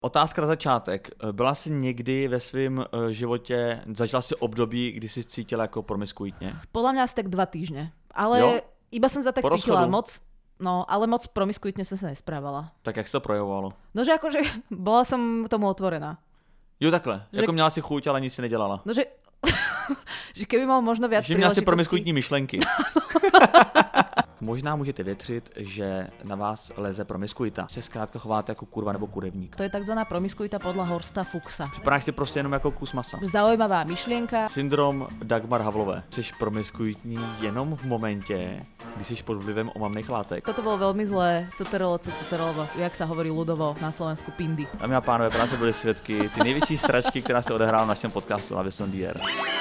Otázka na začátek. Byla jsi někdy ve svém životě, zažila si období, kdy jsi cítila jako promiskuitně? Podľa mňa asi tak 2 týždne. Ale jo? Iba som sa tak cítila moc, no ale moc promiskuitne som sa nesprávala. Tak jak se to projevovalo? No že akože bola som tomu otvorená. Jo takhle, že... jako měla si chuť, ale nic si nedělala. No že, že keby mal možno viac príležitostí. Že měla si promiskuitní myšlenky. Možná můžete větřit, že na vás leze promiskuita. Se zkrátka chováte jako kurva nebo kurevník. To je takzvaná promiskuita podľa Horsta Fuchsa. Připadáš si prostě jenom jako kus masa. Zaujímavá myšlienka. Syndrom Dagmar Havlové. Jsi promiskuitní jenom v momentě, kdy jsi pod vlivem omamných látek. Toto bolo veľmi zlé. CTRL, jak sa hovorí ľudovo na Slovensku pindy. Dámy a pánové, právě byli svědky ty největší sračky, která se odehrála v našem podcastu La Vie Sondier.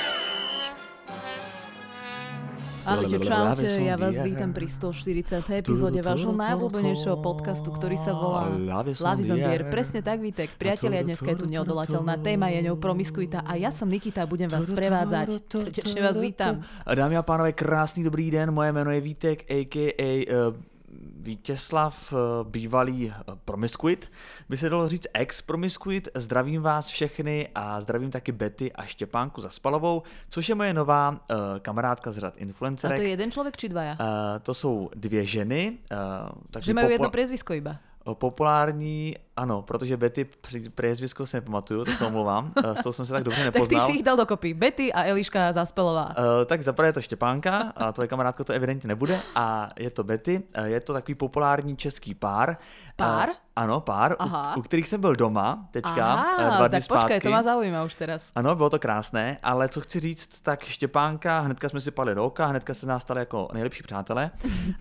Ahojte, čaute, ja vás vítam pri 140. epizóde vášho najobľúbenejšieho podcastu, ktorý sa volá La Vie Sondier. Presne tak, Vítek. Priatelia, dneska je tu neodolateľná téma, je ňou promiskuita a ja som Nikita a budem vás sprevádzať. Srdečne vás vítam. Dámy a pánové, krásný dobrý den, moje jméno je Vítek, a.k.a. Vítězslav, bývalý promiskuit, by se dalo říct ex-promiskuit. Zdravím vás všechny a zdravím taky Betty a Štěpánku Zaspalovou, což je moje nová kamarádka z řad influencerek. A to je jeden člověk či dvaja? To jsou 2 ženy. Že mají jedno priezvisko iba. Populární, ano, protože Betty priezvisko se nepamatuju, to se omlouvám, s tou jsem se tak dobře nepoznal. Tak ty si ich dal dokopy, Betty a Eliška Zaspelová. Tak zaprvé je to Štěpánka, a tvoje kamarádka to evidentně nebude, a je to Betty, je to takový populární český pár. Pár? Ano, pár, u kterých jsem byl doma teďka, 2 dny tak zpátky. Počkej, to má zaujíma už teraz. Ano, bylo to krásné, ale co chci říct, tak Štěpánka, hnedka jsme si padli do oka, hnedka se nás stali jako nejlepší přátelé.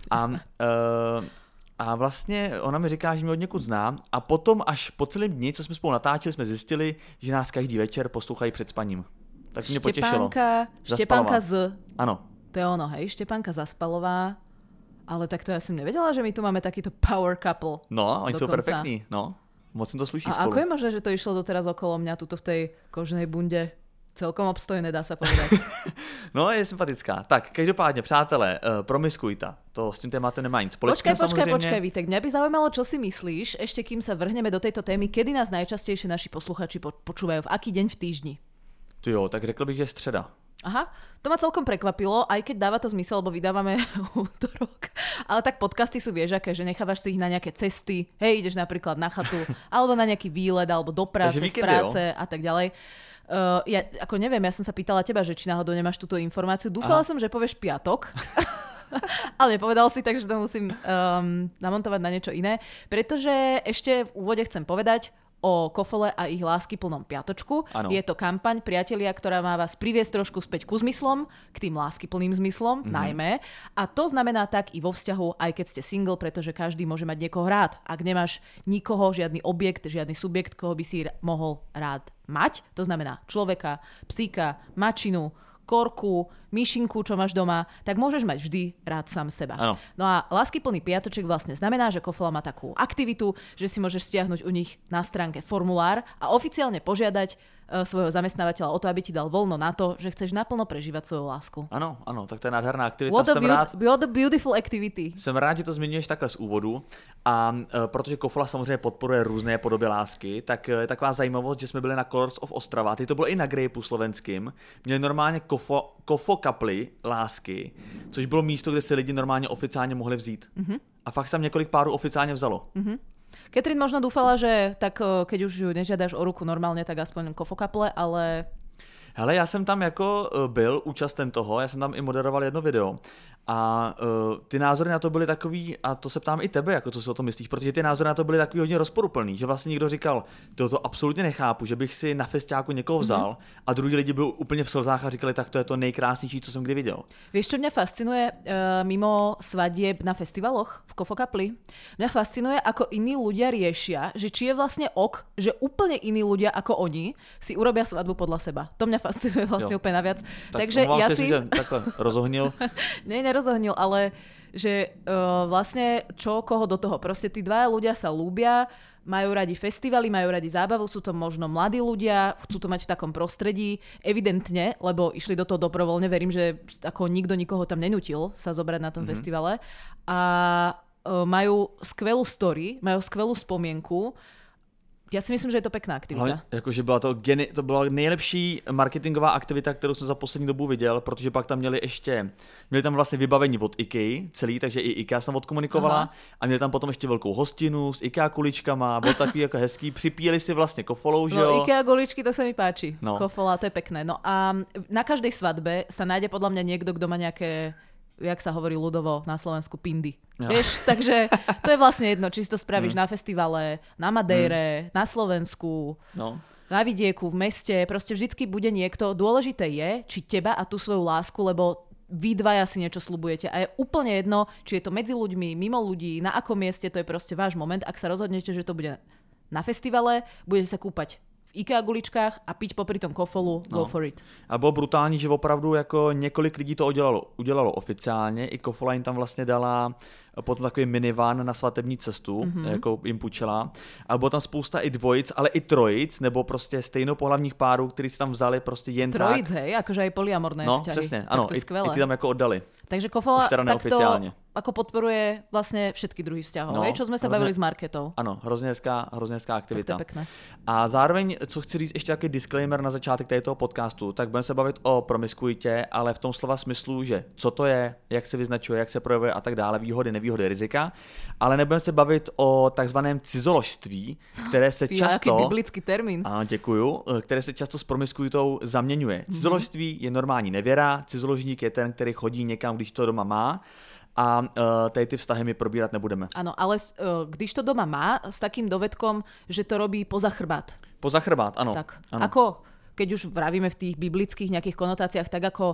A vlastně ona mi říká, že mě od někud zná, a potom až po celém dni, co jsme spolu natáčeli, jsme zjistili, že nás každý večer poslouchají před spaním. Tak mě potěšilo. Štěpánka z... Ano. To je ono, hej, Štěpánka Zaspalová. Ale tak to ja som nevedela, že my tu máme takýto power couple. No, oni sú perfektní, no. Moc to sluší spolu. A ako je možné, že to išlo doteraz okolo mňa tuto v tej koženej bunde? Celkom obstojné, dá sa povedať. No, je sympatická. Tak, každopádne, přátelé, promiskuita. To s tým tématem nemá nic spoločného, samozrejme. Počkaj, Vítek. Mňa by zaujímalo, čo si myslíš, ešte kým sa vrhneme do tejto témy, kedy nás najčastejšie naši posluchači počúvajú, v aký deň v týždni? Ty jo, tak řekl bych, že středa. Aha, to ma celkom prekvapilo, aj keď dáva to zmysel, lebo vydávame útorok. Ale tak podcasty sú, vieš, aké, že nechávaš si ich na nejaké cesty, hej, ideš napríklad na chatu, alebo na nejaký výlet, alebo do práce, z práce a tak ďalej. Ja ako neviem, ja som sa pýtala teba, že či náhodou nemáš túto informáciu. Dúfala som, že povieš piatok, ale nepovedal si, takže to musím namontovať na niečo iné. Pretože ešte v úvode chcem povedať o Kofole a ich láskyplnom piatočku. Ano. Je to kampaň, priatelia, ktorá má vás priviesť trošku späť ku zmyslom, k tým láskyplným zmyslom, najmä. A to znamená tak i vo vzťahu, aj keď ste single, pretože každý môže mať niekoho rád. Ak nemáš nikoho, žiadny objekt, žiadny subjekt, koho by si mohol rád mať, to znamená človeka, psíka, mačinu, korku, myšinku, čo máš doma, tak môžeš mať vždy rád sám seba. Ano. No a láskyplný piatoček vlastne znamená, že Kofola má takú aktivitu, že si môžeš stiahnuť u nich na stránke formulár a oficiálne požiadať svojho zamestnávateľa o to, aby ti dal voľno na to, že chceš naplno prežívať svoju lásku. Ano, ano, tak to je nádherná aktivita. What a beautiful activity. Jsem rád, že to zmiňuješ takhle z úvodu, a protože Kofola samozřejmě podporuje různé podoby lásky, tak je taková zajímavost, že jsme byli na Colors of Ostrava, teď to bylo i na Grapeu slovenským, měli normálně kofo kaply lásky, což bylo místo, kde se lidi normálně oficiálně mohli vzít. A fakt tam několik párů oficiálně vzalo. Katrin možno dúfala, že tak keď už ju nežiadaš o ruku normálne, tak aspoň kofokaple, ale... Hele, já jsem tam jako byl účasten toho, já jsem tam i moderoval jedno video a ty názory na to byly takový, a to se ptám i tebe, jako co si o tom myslíš, protože ty názory na to byly takový hodně rozporuplný, že vlastně někdo říkal, to absolutně nechápu, že bych si na festiáku někoho vzal, a druhý lidi byli úplně v slzách a říkali, tak to je to nejkrásnější, co jsem kdy viděl. Vieš, čo mňa fascinuje mimo svadieb na festivaloch v Kofokapli? Mňa fascinuje, ako iní ľudia riešia, že či je vlastne že úplne iní ľudia ako oni si urobia svadbu podľa seba. To mňa fascinuje vlastne úplne naviac. Tak takže ja si... takhle rozohnil. Nerozohnil, ale že vlastne čo koho do toho. Proste tí dvaja ľudia sa ľúbia, majú radi festivaly, majú radi zábavu, sú to možno mladí ľudia, chcú to mať v takom prostredí, evidentne, lebo išli do toho dobrovoľne, verím, že ako nikto nikoho tam nenútil sa zobrať na tom festivale, a majú skvelú story, majú skvelú spomienku, Já si myslím, že je to pěkná aktivita. Jakože to byla nejlepší marketingová aktivita, kterou jsem za poslední dobu viděl, protože pak tam měli tam vlastně vybavení od IKEA celý, takže i IKEA jsem odkomunikovala a měli tam potom ještě velkou hostinu s IKEA kuličkama, bylo takový jako hezký, připíjeli si vlastně kofolou, že jo. No IKEA kuličky, to se mi páči. No. Kofola, to je pekné. No a na každej svadbe sa nájde podľa mňa niekto, kto má nejaké, jak sa hovorí ľudovo na Slovensku, pindy. Ja. Vieš, takže to je vlastne jedno, či si to spravíš na festivale, na Madejre, na Slovensku, na vidieku, v meste, proste vždycky bude niekto. Dôležité je, či teba a tú svoju lásku, lebo vy dvaja si niečo sľubujete a je úplne jedno, či je to medzi ľuďmi, mimo ľudí, na akom mieste, to je proste váš moment. Ak sa rozhodnete, že to bude na festivale, budete sa kúpať v IKEA guličkách a piť popri tom kofolu, go for it. A bylo brutální, že opravdu jako několik lidí to udělalo oficiálně, i kofola jim tam vlastně dala potom takový minivan na svatební cestu, jako jim půjčila. A bylo tam spousta i dvojic, ale i trojic, nebo prostě stejnopohlavních párů, kteří si tam vzali prostě jen trojic, tak. Hej, akože aj polyamorné vzťahy. No, přesně, ano, i ty tam jako oddali. Takže kofola takto ako podporuje vlastne všetky druhy vzťahov, čo sme sa bavili s Marketou. Ano, hrozně hezká aktivita. Tak to je pekné. A zároveň, co chci říct, ještě takový disclaimer na začátek toho podcastu, tak budeme se bavit o promiskuitě, ale v tom slova smyslu, že co to je, jak se vyznačuje, jak se projevuje a tak dále, výhody, nevýhody, rizika, ale nebudeme se bavit o takzvaném cizoložství, které se často... Jaký biblický termín. A děkuju, které se často s promiskuitou zaměňuje. Cizoložství je normální nevěra, cizoložník je ten, který chodí někam, když to doma má. A tady ty vztahy my probírat nebudeme. Áno, ale když to doma má, s takým dovedkom, že to robí poza chrbát. Poza chrbát, ano. Tak, ano. ako, keď už vravíme v tých biblických nejakých konotáciách, tak ako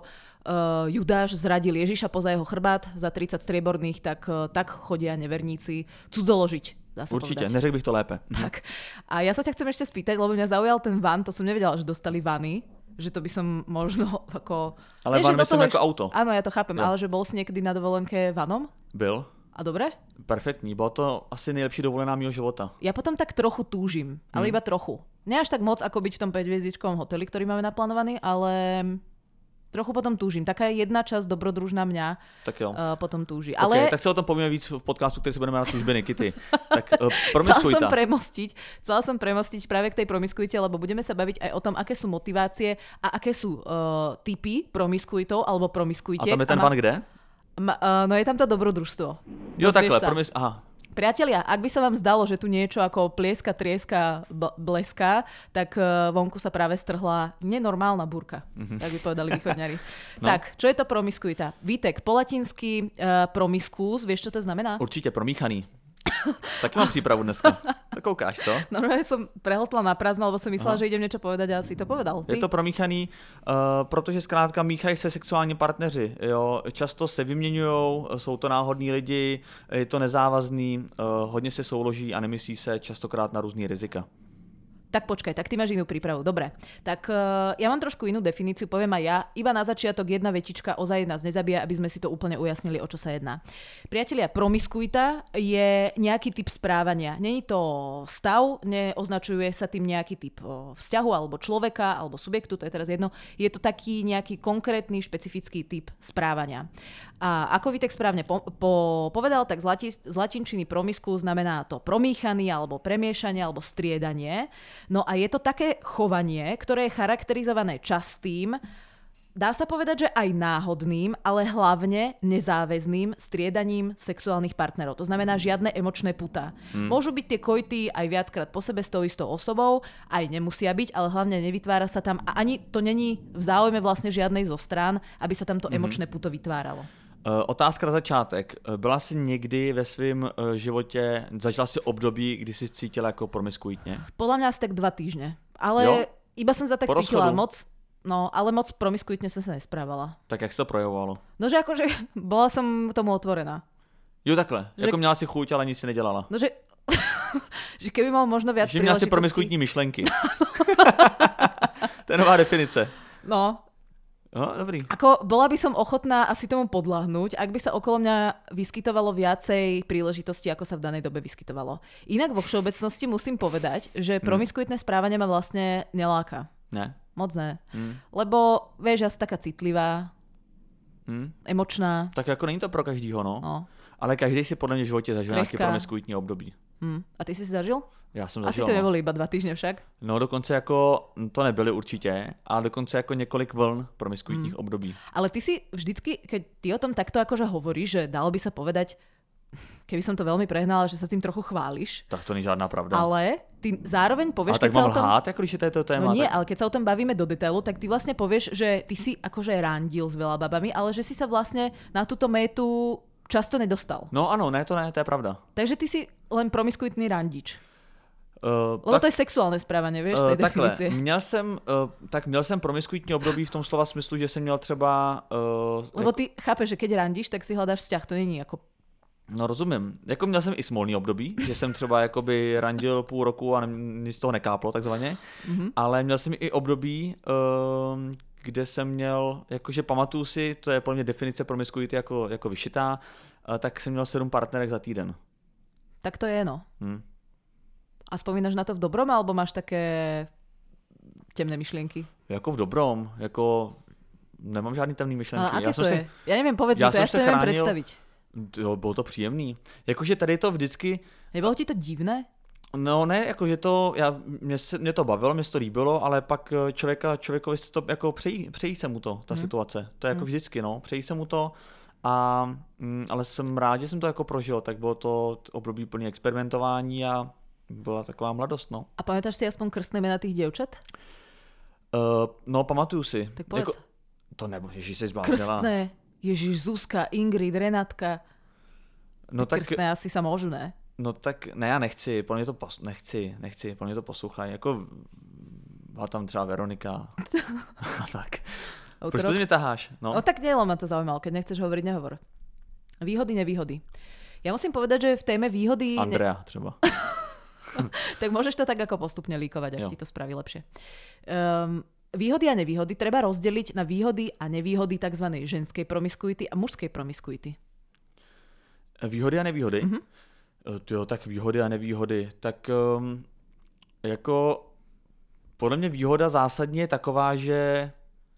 Judáš zradil Ježiša poza jeho chrbát za 30 strieborných, tak chodia neverníci cudzoložiť. Určite, neřekl bych to lépe. Tak. A ja sa ťa chcem ešte spýtať, lebo mňa zaujal ten van, to som nevedela, že dostali vany. Že to by som možno ako... Ale van myslím ako auto. Áno, ja to chápem, ale že bol si niekedy na dovolenke vanom? Byl. A dobre? Perfektní, bylo to asi nejlepší dovolená mýho života. Ja potom tak trochu túžim, ale iba trochu. Nie až tak moc, ako byť v tom 5-hviezdičkovom hoteli, ktorý máme naplánovaný, ale trochu potom túžim. Taká jedna časť dobrodružná mňa tak jo. Potom túži. Okay, ale... tak se o tom povíme víc v podcastu, který se budeme na túžby Nikity. Tak promiskuita. Chcela som premostiť práve k tej promiskuite, lebo budeme sa baviť aj o tom, aké sú motivácie a aké sú typy promiskuitov alebo promiskuitiek. A tam je ten van kde? No je tam to dobrodružstvo. Jo, takhle. Aha. Priatelia, ak by sa vám zdalo, že tu niečo ako plieska, trieska, bleská, tak vonku sa práve strhla nenormálna búrka, tak by povedali východňari. No. Tak, čo je to promiskuita? Vítek, po latinsky promiskus, vieš, čo to znamená? Určite promíchaný. Taky mám přípravu dneska. Tak koukáš, co? Normálne som prehltla na prázdno, lebo som myslela, že idem niečo povedať a si to povedal. Ty? Je to promíchaný, protože zkrátka míchají se sexuální partneři. Jo? Často se vyměňujou, jsou to náhodní lidi, je to nezávazný, hodně se souloží a nemyslí se častokrát na různý rizika. Tak počkaj, tak ty máš inú prípravu. Dobre, tak ja mám trošku inú definíciu, poviem aj ja. Iba na začiatok jedna vetička, ozaj nás nezabíja, aby sme si to úplne ujasnili, o čo sa jedná. Priatelia, promiskuita je nejaký typ správania. Není to stav, neoznačuje sa tým nejaký typ vzťahu alebo človeka alebo subjektu, to je teraz jedno. Je to taký nejaký konkrétny, špecifický typ správania. A ako Vítek správne povedal, tak z latinčiny promisku znamená to promíchaný alebo premiešanie alebo striedanie. No a je to také chovanie, ktoré je charakterizované častým, dá sa povedať, že aj náhodným, ale hlavne nezáväzným striedaním sexuálnych partnerov. To znamená žiadne emočné putá. Môžu byť tie kojty aj viackrát po sebe s tou istou osobou, aj nemusia byť, ale hlavne nevytvára sa tam a ani to není v záujme vlastne žiadnej zo strán, aby sa tam to emočné puto vytváralo. Otázka na začátek. Byla jsi někdy ve svém životě, zažila si období, kdy jsi cítila jako promiskuitně? Podľa mňa asi tak 2 týždne. Ale jo? Iba som sa tak cítila moc, no ale moc promiskuitne som sa nesprávala. Tak jak se to projevovalo? No že akože bola som tomu otvorená. Jo takhle, že... jako měla si chuť, ale nic si nedělala. No že, že keby mal možno viac príležitostí. Že měla si promiskuitní myšlenky. To je nová definice. No. No, dobrý. Ako bola by som ochotná asi tomu podľahnúť, ak by sa okolo mňa vyskytovalo viacej príležitostí, ako sa v danej dobe vyskytovalo. Inak vo všeobecnosti musím povedať, že promiskuitné správanie ma vlastne neláka. Ne. Moc ne. Lebo, vieš, ja som taká citlivá, emočná. Tak jako není to pro každýho, no. Ale každý si podle mě v životě zažil nějaké promiskuitní období. A ty si zažil? Já jsem Asi zažil. to neboli iba 2 týždne však. No dokonce jako, to nebyly určitě, ale dokonce jako několik vln promiskuitních období. Ale ty si vždycky, keď ty o tom takto akože hovoríš, že dalo by sa povedať, keby som to veľmi prehnala, že sa tým trochu chváliš, Tak to není žádná pravda. ale ty zároveň povieš, Ale tak keď sa mám o tom... lhát, jako když je to téma. No nie, tak... ale keď sa o tom bavíme do detailu, tak ty vlastne povieš, že ty si akože randil s veľa babami, ale že si sa vlastne na túto métu často nedostal. No ano, ne, to je pravda. Takže ty si len promiskuitný randič. Lebo to je sexuálne správanie, vieš, z tej takhle, definície. měl jsem promiskuitní období v tom slova smyslu, že jsem měl třeba... Lebo ty chápeš, že keď randíš, tak si hľadáš vzťah, to není ako... No rozumím. Jako měl jsem i smolný období, že jsem třeba jakoby randil půl roku a nic z toho nekáplo takzvaně, ale měl jsem i období, kde jsem měl, jakože pamatuju si, to je podle mě definice promiskuity jako vyšitá, tak jsem měl 7 partnerek za týden. Tak to je, no. A spomínaš na to v dobrom, alebo máš také temné myšlienky? Jako v dobrom, jako nemám žádný temný myšlenky. Ale aké to je? Ja neviem, povedz mi to, ja si to neviem predstaviť. Jo, bylo to příjemný. Jakože tady to vždycky... Nebylo ti to divné? No ne, jakože to, mě to bavilo, mě to líbilo, ale pak člověkovi se to jako přejí se mu to, ta situace. To je jako vždycky, no, přejí se mu to, ale jsem rád, že jsem to jako prožil, tak bylo to období plný experimentování a byla taková mladost, no. A pamätáš si aspoň krstné mena tých dievčat? No, pamatuju si. Tak povedz. Jako, to nebo, ježiš, jsi zbláznila. Krstné. Ježiš, Zuzka, Ingrid, Renátka. No tak, krstné asi sa môžu, ne? no tak, ne, já nechci, pro mě to nechci, pro mě to poslouchají, jako byla tam třeba Veronika a tak. Proč to mě taháš? No tak nie, ma to zaujímalo, keď nechceš hovoriť, nehovor. Výhody, nevýhody. Ja musím povedať, že v téme výhody... Andrea třeba. Tak môžeš to tak ako postupne líkovať, ak ti to spraví lepšie. Výhody a nevýhody treba rozdeliť na výhody a nevýhody tzv. Ženskej promiskuity a mužskej promiskuity. Výhody a nevýhody? Jo, tak výhody a nevýhody. Tak jako podle mě výhoda zásadně je taková, že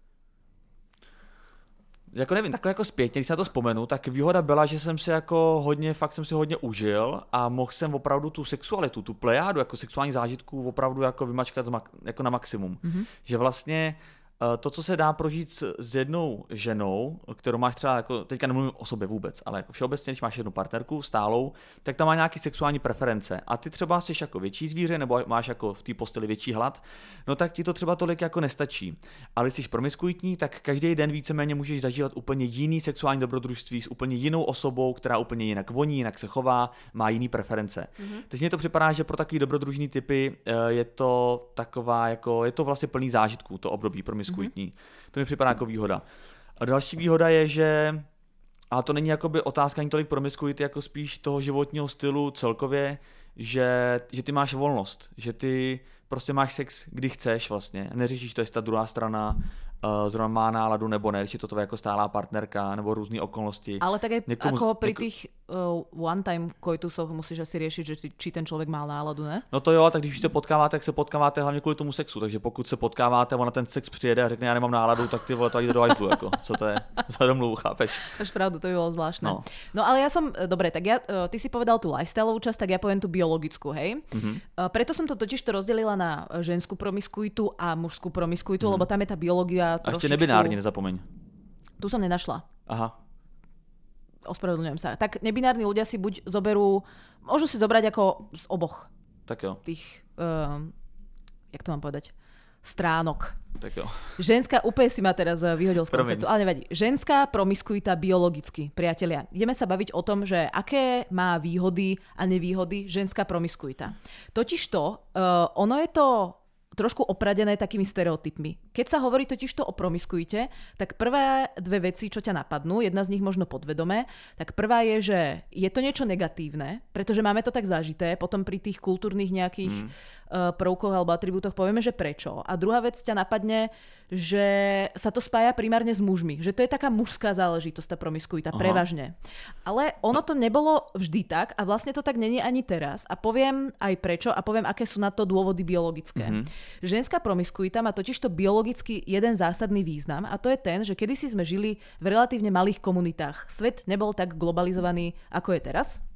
jako nevím, takhle jako zpětně, když se na to vzpomenu, tak výhoda byla, že jsem si jako fakt jsem si hodně užil a mohl jsem opravdu tu sexualitu, tu plejádu jako sexuální zážitků opravdu jako vymačkat jako na maximum. Že vlastně to, co se dá prožít s jednou ženou, kterou máš třeba, jako, teďka nemluvím o sobě vůbec, ale jako všeobecně, když máš jednu partnerku stálou, tak tam má nějaký sexuální preference a ty třeba jsi jako větší zvíře nebo máš jako v té posteli větší hlad, no tak ti to třeba tolik jako nestačí. Ale když jsi promiskuitní, tak každý den víceméně můžeš zažívat úplně jiný sexuální dobrodružství s úplně jinou osobou, která úplně jinak voní, jinak se chová, má jiný preference. Takže mně to připadá, že pro takový dobrodružný typy je to taková jako, je to vlastně plný zážitků, to období promiskuitní. To mi připadá jako výhoda. A další výhoda je, že, a to není jakoby otázka ani tolik promiskuity, jako spíš toho životního stylu celkově, že ty máš volnost, že ty prostě máš sex, kdy chceš vlastně, neřešíš to, jestli ta druhá strana zrovna má náladu nebo ne, či to tvoje jako stálá partnerka nebo různé okolnosti. Ale tak aj ako pri tých one-time coitusoch musíš asi riešiť, že či ten človek mal náladu, ne? No to jo, tak když se potkáváte, tak se potkáváte hlavně kvůli tomu sexu, takže pokud se potkáváte, ona ten sex přijede a řekne, já nemám náladu, tak ty vole, to jde do hajzlu, jako, co to je za domluvu, chápeš? Máš pravdu, to by bolo zvláštne. No ale ja som, dobre, tak ty si povedal tú lifestyleovú časť, tak ja poviem tú biologickú, hej? Preto som to totiž rozdelila na ženskú promiskuitu a mužskú promiskuitu, lebo tam je tá biológia trošičku... A ešte nebinárne, nezapomeň. Tu som nenašla. Aha. Ospravedlňujem sa. Tak nebinárni ľudia si buď zoberú, môžu si zobrať ako z oboch. Tak jo. Tých, jak to mám povedať, stránok. Tak jo. Ženská, úplne si ma teraz vyhodil z konceptu, ale nevadí. Ženská promiskuita biologicky, priatelia. Ideme sa baviť o tom, že aké má výhody a nevýhody ženská promiskuita. Totižto, ono je to trošku opradené takými stereotypmi. Keď sa hovorí totižto o promiskuite, tak prvé dve veci, čo ťa napadnú, jedna z nich možno podvedomé, tak prvá je, že je to niečo negatívne, pretože máme to tak zažité, potom pri tých kultúrnych nejakých prvkoch alebo atribútoch povieme, že prečo. A druhá vec ťa napadne, že sa to spája primárne s mužmi. Že to je taká mužská záležitosť, tá promiskuita, prevažne. Ale ono to nebolo vždy tak a vlastne to tak není ani teraz. A poviem aj prečo a poviem, aké sú na to dôvody biologické. Ženská promiskuita má totižto biologicky jeden zásadný význam a to je ten, že kedysi sme žili v relatívne malých komunitách. Svet nebol tak globalizovaný, ako je teraz.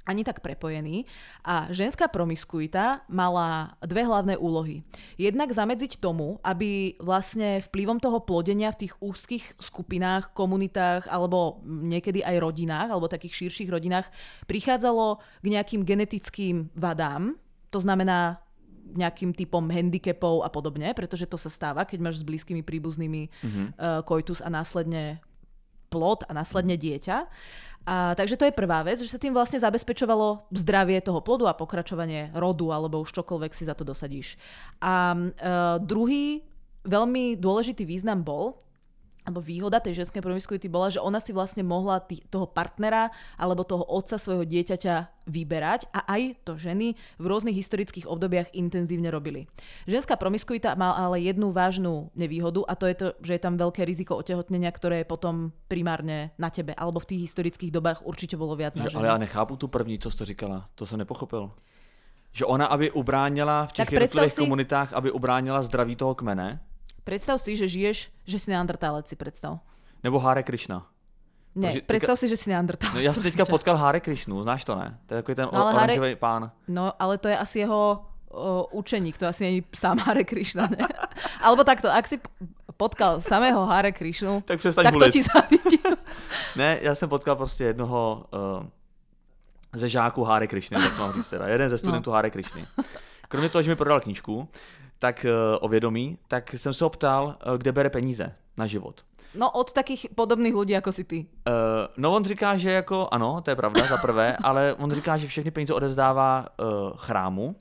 ani tak prepojení a ženská promiskuita mala dve hlavné úlohy. Jednak zamedziť tomu, aby vlastne vplyvom toho plodenia v tých úzkých skupinách, komunitách alebo niekedy aj rodinách, alebo takých širších rodinách prichádzalo k nejakým genetickým vadám, to znamená nejakým typom handicapov a podobne, pretože to sa stáva, keď máš s blízkymi príbuznými koitus a následne plod a následne dieťa. A, takže to je prvá vec, že sa tým vlastne zabezpečovalo zdravie toho plodu a pokračovanie rodu, alebo už čokoľvek si za to dosadíš. A druhý veľmi dôležitý význam bol, alebo výhoda tej ženskej promiskuity bola, že ona si vlastne mohla toho partnera alebo toho otca svojho dieťaťa vyberať a aj to ženy v rôznych historických obdobiach intenzívne robili. Ženská promiskuita má ale jednu vážnu nevýhodu a to je to, že je tam veľké riziko otehotnenia, ktoré je potom primárne na tebe, alebo v tých historických dobách určite bolo viac na ženy. Ale já nechápu tu první, co jsi to říkala, to jsem nepochopil. Že ona, aby ubránila v těch jednotlivých komunitách, aby ubránila zdraví toho kmene. Predstav si, že žiješ, že si neandertálec, si predstav. Nebo Hare Krishna. Ne, predstav si, že si neandertálec. No, já jsem teďka potkal Hare Krishnu, znáš to, ne? To je takový ten oranžový pán. No, ale to je asi jeho učeník, to asi není sám Hare Krishna, ne? Alebo takto, ak si potkal samého Hare Krishnu, tak to ti zavidím. Ne, já jsem potkal prostě jednoho ze žáků Hare Krishny, tak mám říct teda. Jeden ze studentů Hare Krishny. Kromě toho, že mi prodal knížku, tak o vědomí, tak jsem se ho ptal, kde bere peníze na život. No od takých podobných lidí, jako si ty. No on říká, že jako, ano, to je pravda za prvé, ale on říká, že všechny peníze odevzdává chrámu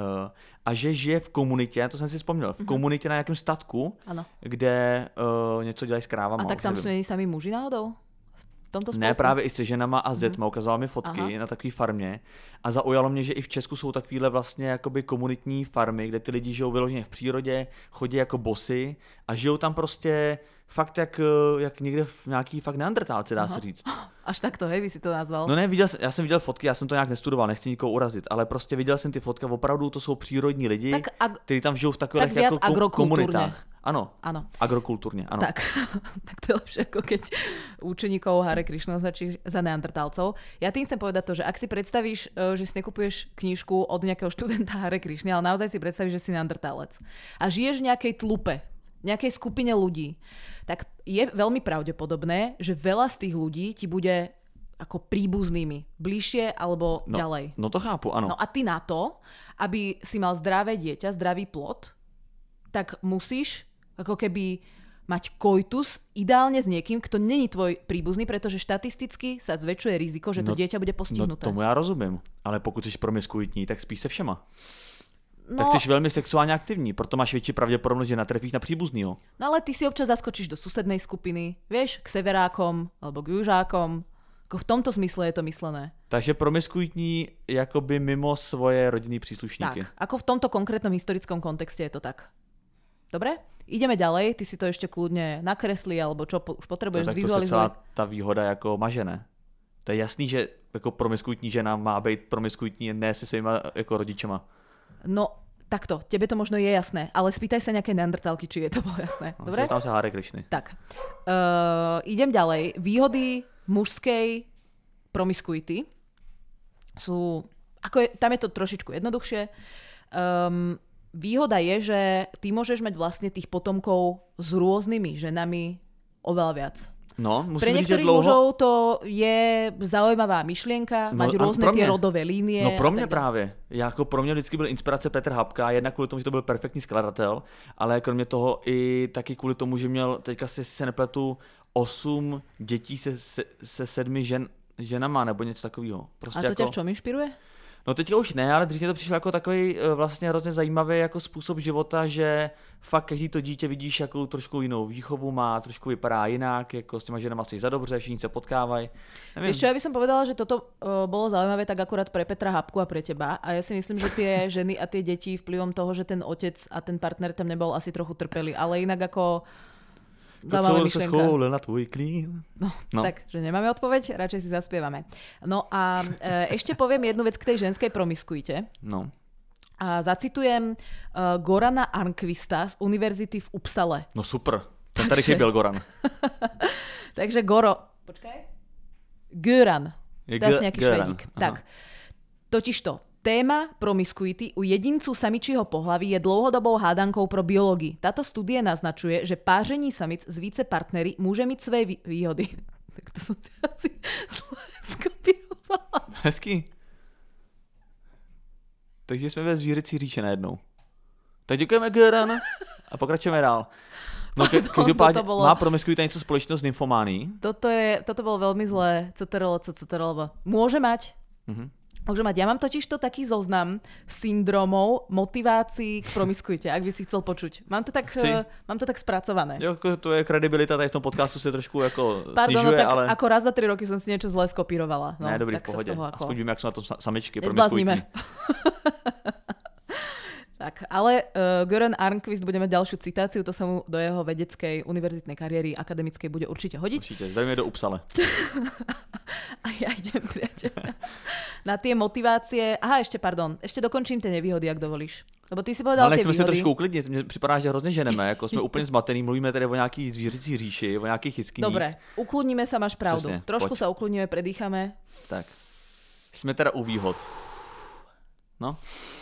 a že žije v komunitě, to jsem si vzpomněl, v komunitě na nějakém statku, ano. Kde něco dělají s krávama. A tak tam jsou sami muži náhodou? Ne, právě i se ženama a s dětma, ukazoval mi fotky na takové farmě a zaujalo mě, že i v Česku jsou takovýhle vlastně jakoby komunitní farmy, kde ty lidi žijou vyloženě v přírodě, chodí jako bosy a žijou tam prostě fakt jak někde v nějaký fakt neandertálce, dá se říct. Až takto, hej, by si to nazval? No ne, já jsem viděl fotky, já jsem to nějak nestudoval, nechci nikoho urazit, ale prostě viděl jsem ty fotky, opravdu to jsou přírodní lidi, kteří tam žijou v takových jako komunitách. Ano, agrokultúrne, áno. Tak to je lepšie, ako keď učeníkov Hare Krishna začíš za neandertálcov. Ja tým chcem povedať to, že ak si predstavíš, že si nekupuješ knižku od nejakého študenta Hare Krishny, ale naozaj si predstavíš, že si neandertálec a žiješ v nejakej tlupe, nejakej skupine ľudí, tak je veľmi pravdepodobné, že veľa z tých ľudí ti bude ako príbuznými, bližšie alebo ďalej. No to chápu, áno. No a ty na to, aby si mal zdravé dieťa, zdravý plod, tak musíš ako keby mať koitus ideálne s niekým, kto není tvoj príbuzný, pretože štatisticky sa zväčšuje riziko, že to dieťa bude postihnuté. No tomu já rozumím, ale pokud jsi promiskuitní, tak spíš se všema. No, tak jsi velmi sexuálně aktivní, proto máš větší pravděpodobnost, že natrefíš na příbuznýho. No ale ty si občas zaskočíš do susednej skupiny, vieš, k severákom alebo k južákom. Ako v tomto smysle je to myslené. Takže promiskuitní jakoby mimo svoje rodinné příslušníky. Tak, ako v tomto konkrétnom historickom kontexte je to tak. Dobre? Ideme ďalej, ty si to ešte kľudne nakresli, alebo čo už potrebuješ zvizualizovať. Tak to se celá ta výhoda jako mažené. To je jasný, že jako promiskuitní žena má být promiskuitní ne se svýma jako rodičema. No, takto, tebe to možno je jasné, ale spýtaj sa nejaké neandertálky, či je to bolo jasné. Dobre? Tam sa Hare Krishny. Tak, idem ďalej. Výhody mužskej promiskuity sú, tam je to trošičku jednoduchšie. Výhoda je, že ty môžeš mať vlastne tých potomkov s rôznymi ženami oveľa viac. No, pre niektorých mužov to je zaujímavá myšlienka, mať rôzne tie rodové línie. No pro mě právě. Pro mě vždycky byl inspirace Petr Hapka, jednak kvůli tomu, že to byl perfektní skladatel, ale kromě toho i taky kvůli tomu, že měl, teďka se nepletu, 8 dětí se 7 ženama nebo něco takového. Prostě a to jako... tě v čom inšpiruje? No teďka už ne, ale dřív mě to přišlo jako takový vlastně hrozně zajímavý jako způsob života, že fakt každý to dítě vidíš jako trošku jinou výchovu má, trošku vypadá jinak, jako s těma ženama si za dobře, všichni se potkávají. Víš čo, ja by som povedala, že toto bolo zaujímavé tak akurát pre Petra Hapku a pre teba a ja si myslím, že tie ženy a tie deti vplyvom toho, že ten otec a ten partner tam nebol, asi trochu trpeli, ale inak ako zaujímavá myšlienka. To, co se schoulil na tvoj klín. No. Tak, že nemáme odpoveď, radšej si zaspievame. No a ešte poviem jednu vec k tej ženskej promiskuite. No. A zacitujem Gorana Arnquista z univerzity v Upsale. No super, ten tady chyběl Goran. Takže Goran. To je asi nejaký švédík. Tak. Totižto, téma promiskuity u jedincu samičího pohlaví je dlouhodobou hádankou pro biológii. Táto studie naznačuje, že páření samic z více partnery môže mít své výhody. Tak to som si asi skopírovala. Hezký. Takže jsme ve zvířecí říše najednou. Tak děkujeme, Göran. A pokračujeme dál. No, každopádně má promiskuita něco společného s nymfománií? Toto bolo veľmi zlé. CTRL. Môže mať. Môže mať. Ja mám totiž to taký zoznam syndromov, motivácií k promiskuite, ak by si chcel počuť. Mám to tak spracované. Jo, to je kredibilita, tady v tom podcastu se trošku jako Pardon, snižuje, tak ale... ako raz za 3 roky som si niečo zlé skopírovala. No, ne, dobrý, tak v pohodě. Ako... Aspoň víme, jak sú na to samičky promiskuitní. promiskuitní. Tak, ale Göran Arnquist bude mať ďalšiu citáciu, to sa mu do jeho vedeckej univerzitnej kariéry akademickej bude určite hodiť. Určite, dajme do Upsale. A ja idem, priateľ. Na tie motivácie... Aha, ešte dokončím tie nevýhody, ak dovolíš. Lebo ty si povedal tie výhody. Ale nechceme se trošku uklidnit, mně připadá, že hrozně ženeme, jako jsme úplně zmatený, mluvíme tady o nějaký zvířecí říši, o nějakých chytkyních. Dobre, ukludníme sa, máš pravdu. Přesně, trošku pojď. sa ukludníme, predýchame. Tak, jsme teda u výhod. No.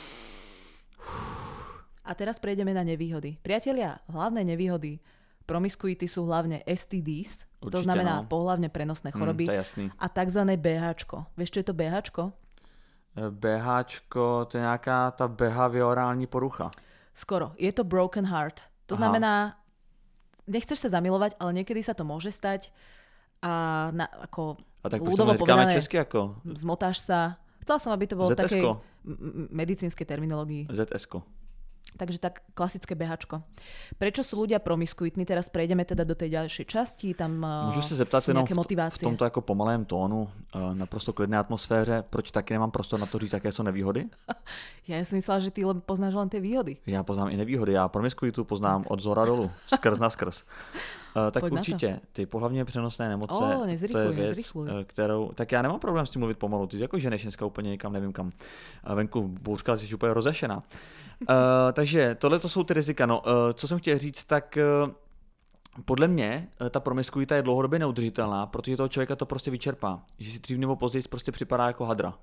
A teraz prejdeme na nevýhody. Priatelia, hlavné nevýhody promiskuity sú hlavne STDs, Určite, to znamená no. pohlavne prenosné choroby, To je jasný. a takzvané BHčko. Vieš, čo je to BHčko? BHčko, to je nějaká ta behaviorální porucha. Skoro. Je to broken heart. To znamená, nechceš sa zamilovať, ale niekedy sa to môže stať a ako A tak proč ľudovo to neříkáme povedané, česky jako? zmotáš sa. Chcela som, aby to bolo v takej ZS-ko. medicínskej terminológii. ZS-ko. Takže tak klasické behačko. Prečo sú ľudia promiskuitní? Teraz prejdeme teda do tej ďalšej časti. Tam Můžu se zeptat sú jenom nejaké v motivácie. tomto jako pomalém tónu, naprosto klidné atmosféře, proč taky nemám prostor na to říct, jaké jsou nevýhody? Ja som myslela, že ty poznáš len tie výhody. Já poznám i nevýhody, já promiskuitu poznám od zhora dolů, skrz na skrz. Tak Pojď na určitě, ty pohlavně přenosné nemoce, to je věc, kterou, tak já nemám problém s tím mluvit pomalu, ty jako ženeš dneska úplně někam, nevím kam, venku bouřka, jsi úplně rozešená. Takže tohle to jsou ty rizika, no, co jsem chtěl říct, tak podle mě ta promiskuita je dlouhodobě neudržitelná, protože toho člověka to prostě vyčerpá, že si dřív nebo později prostě připadá jako hadra.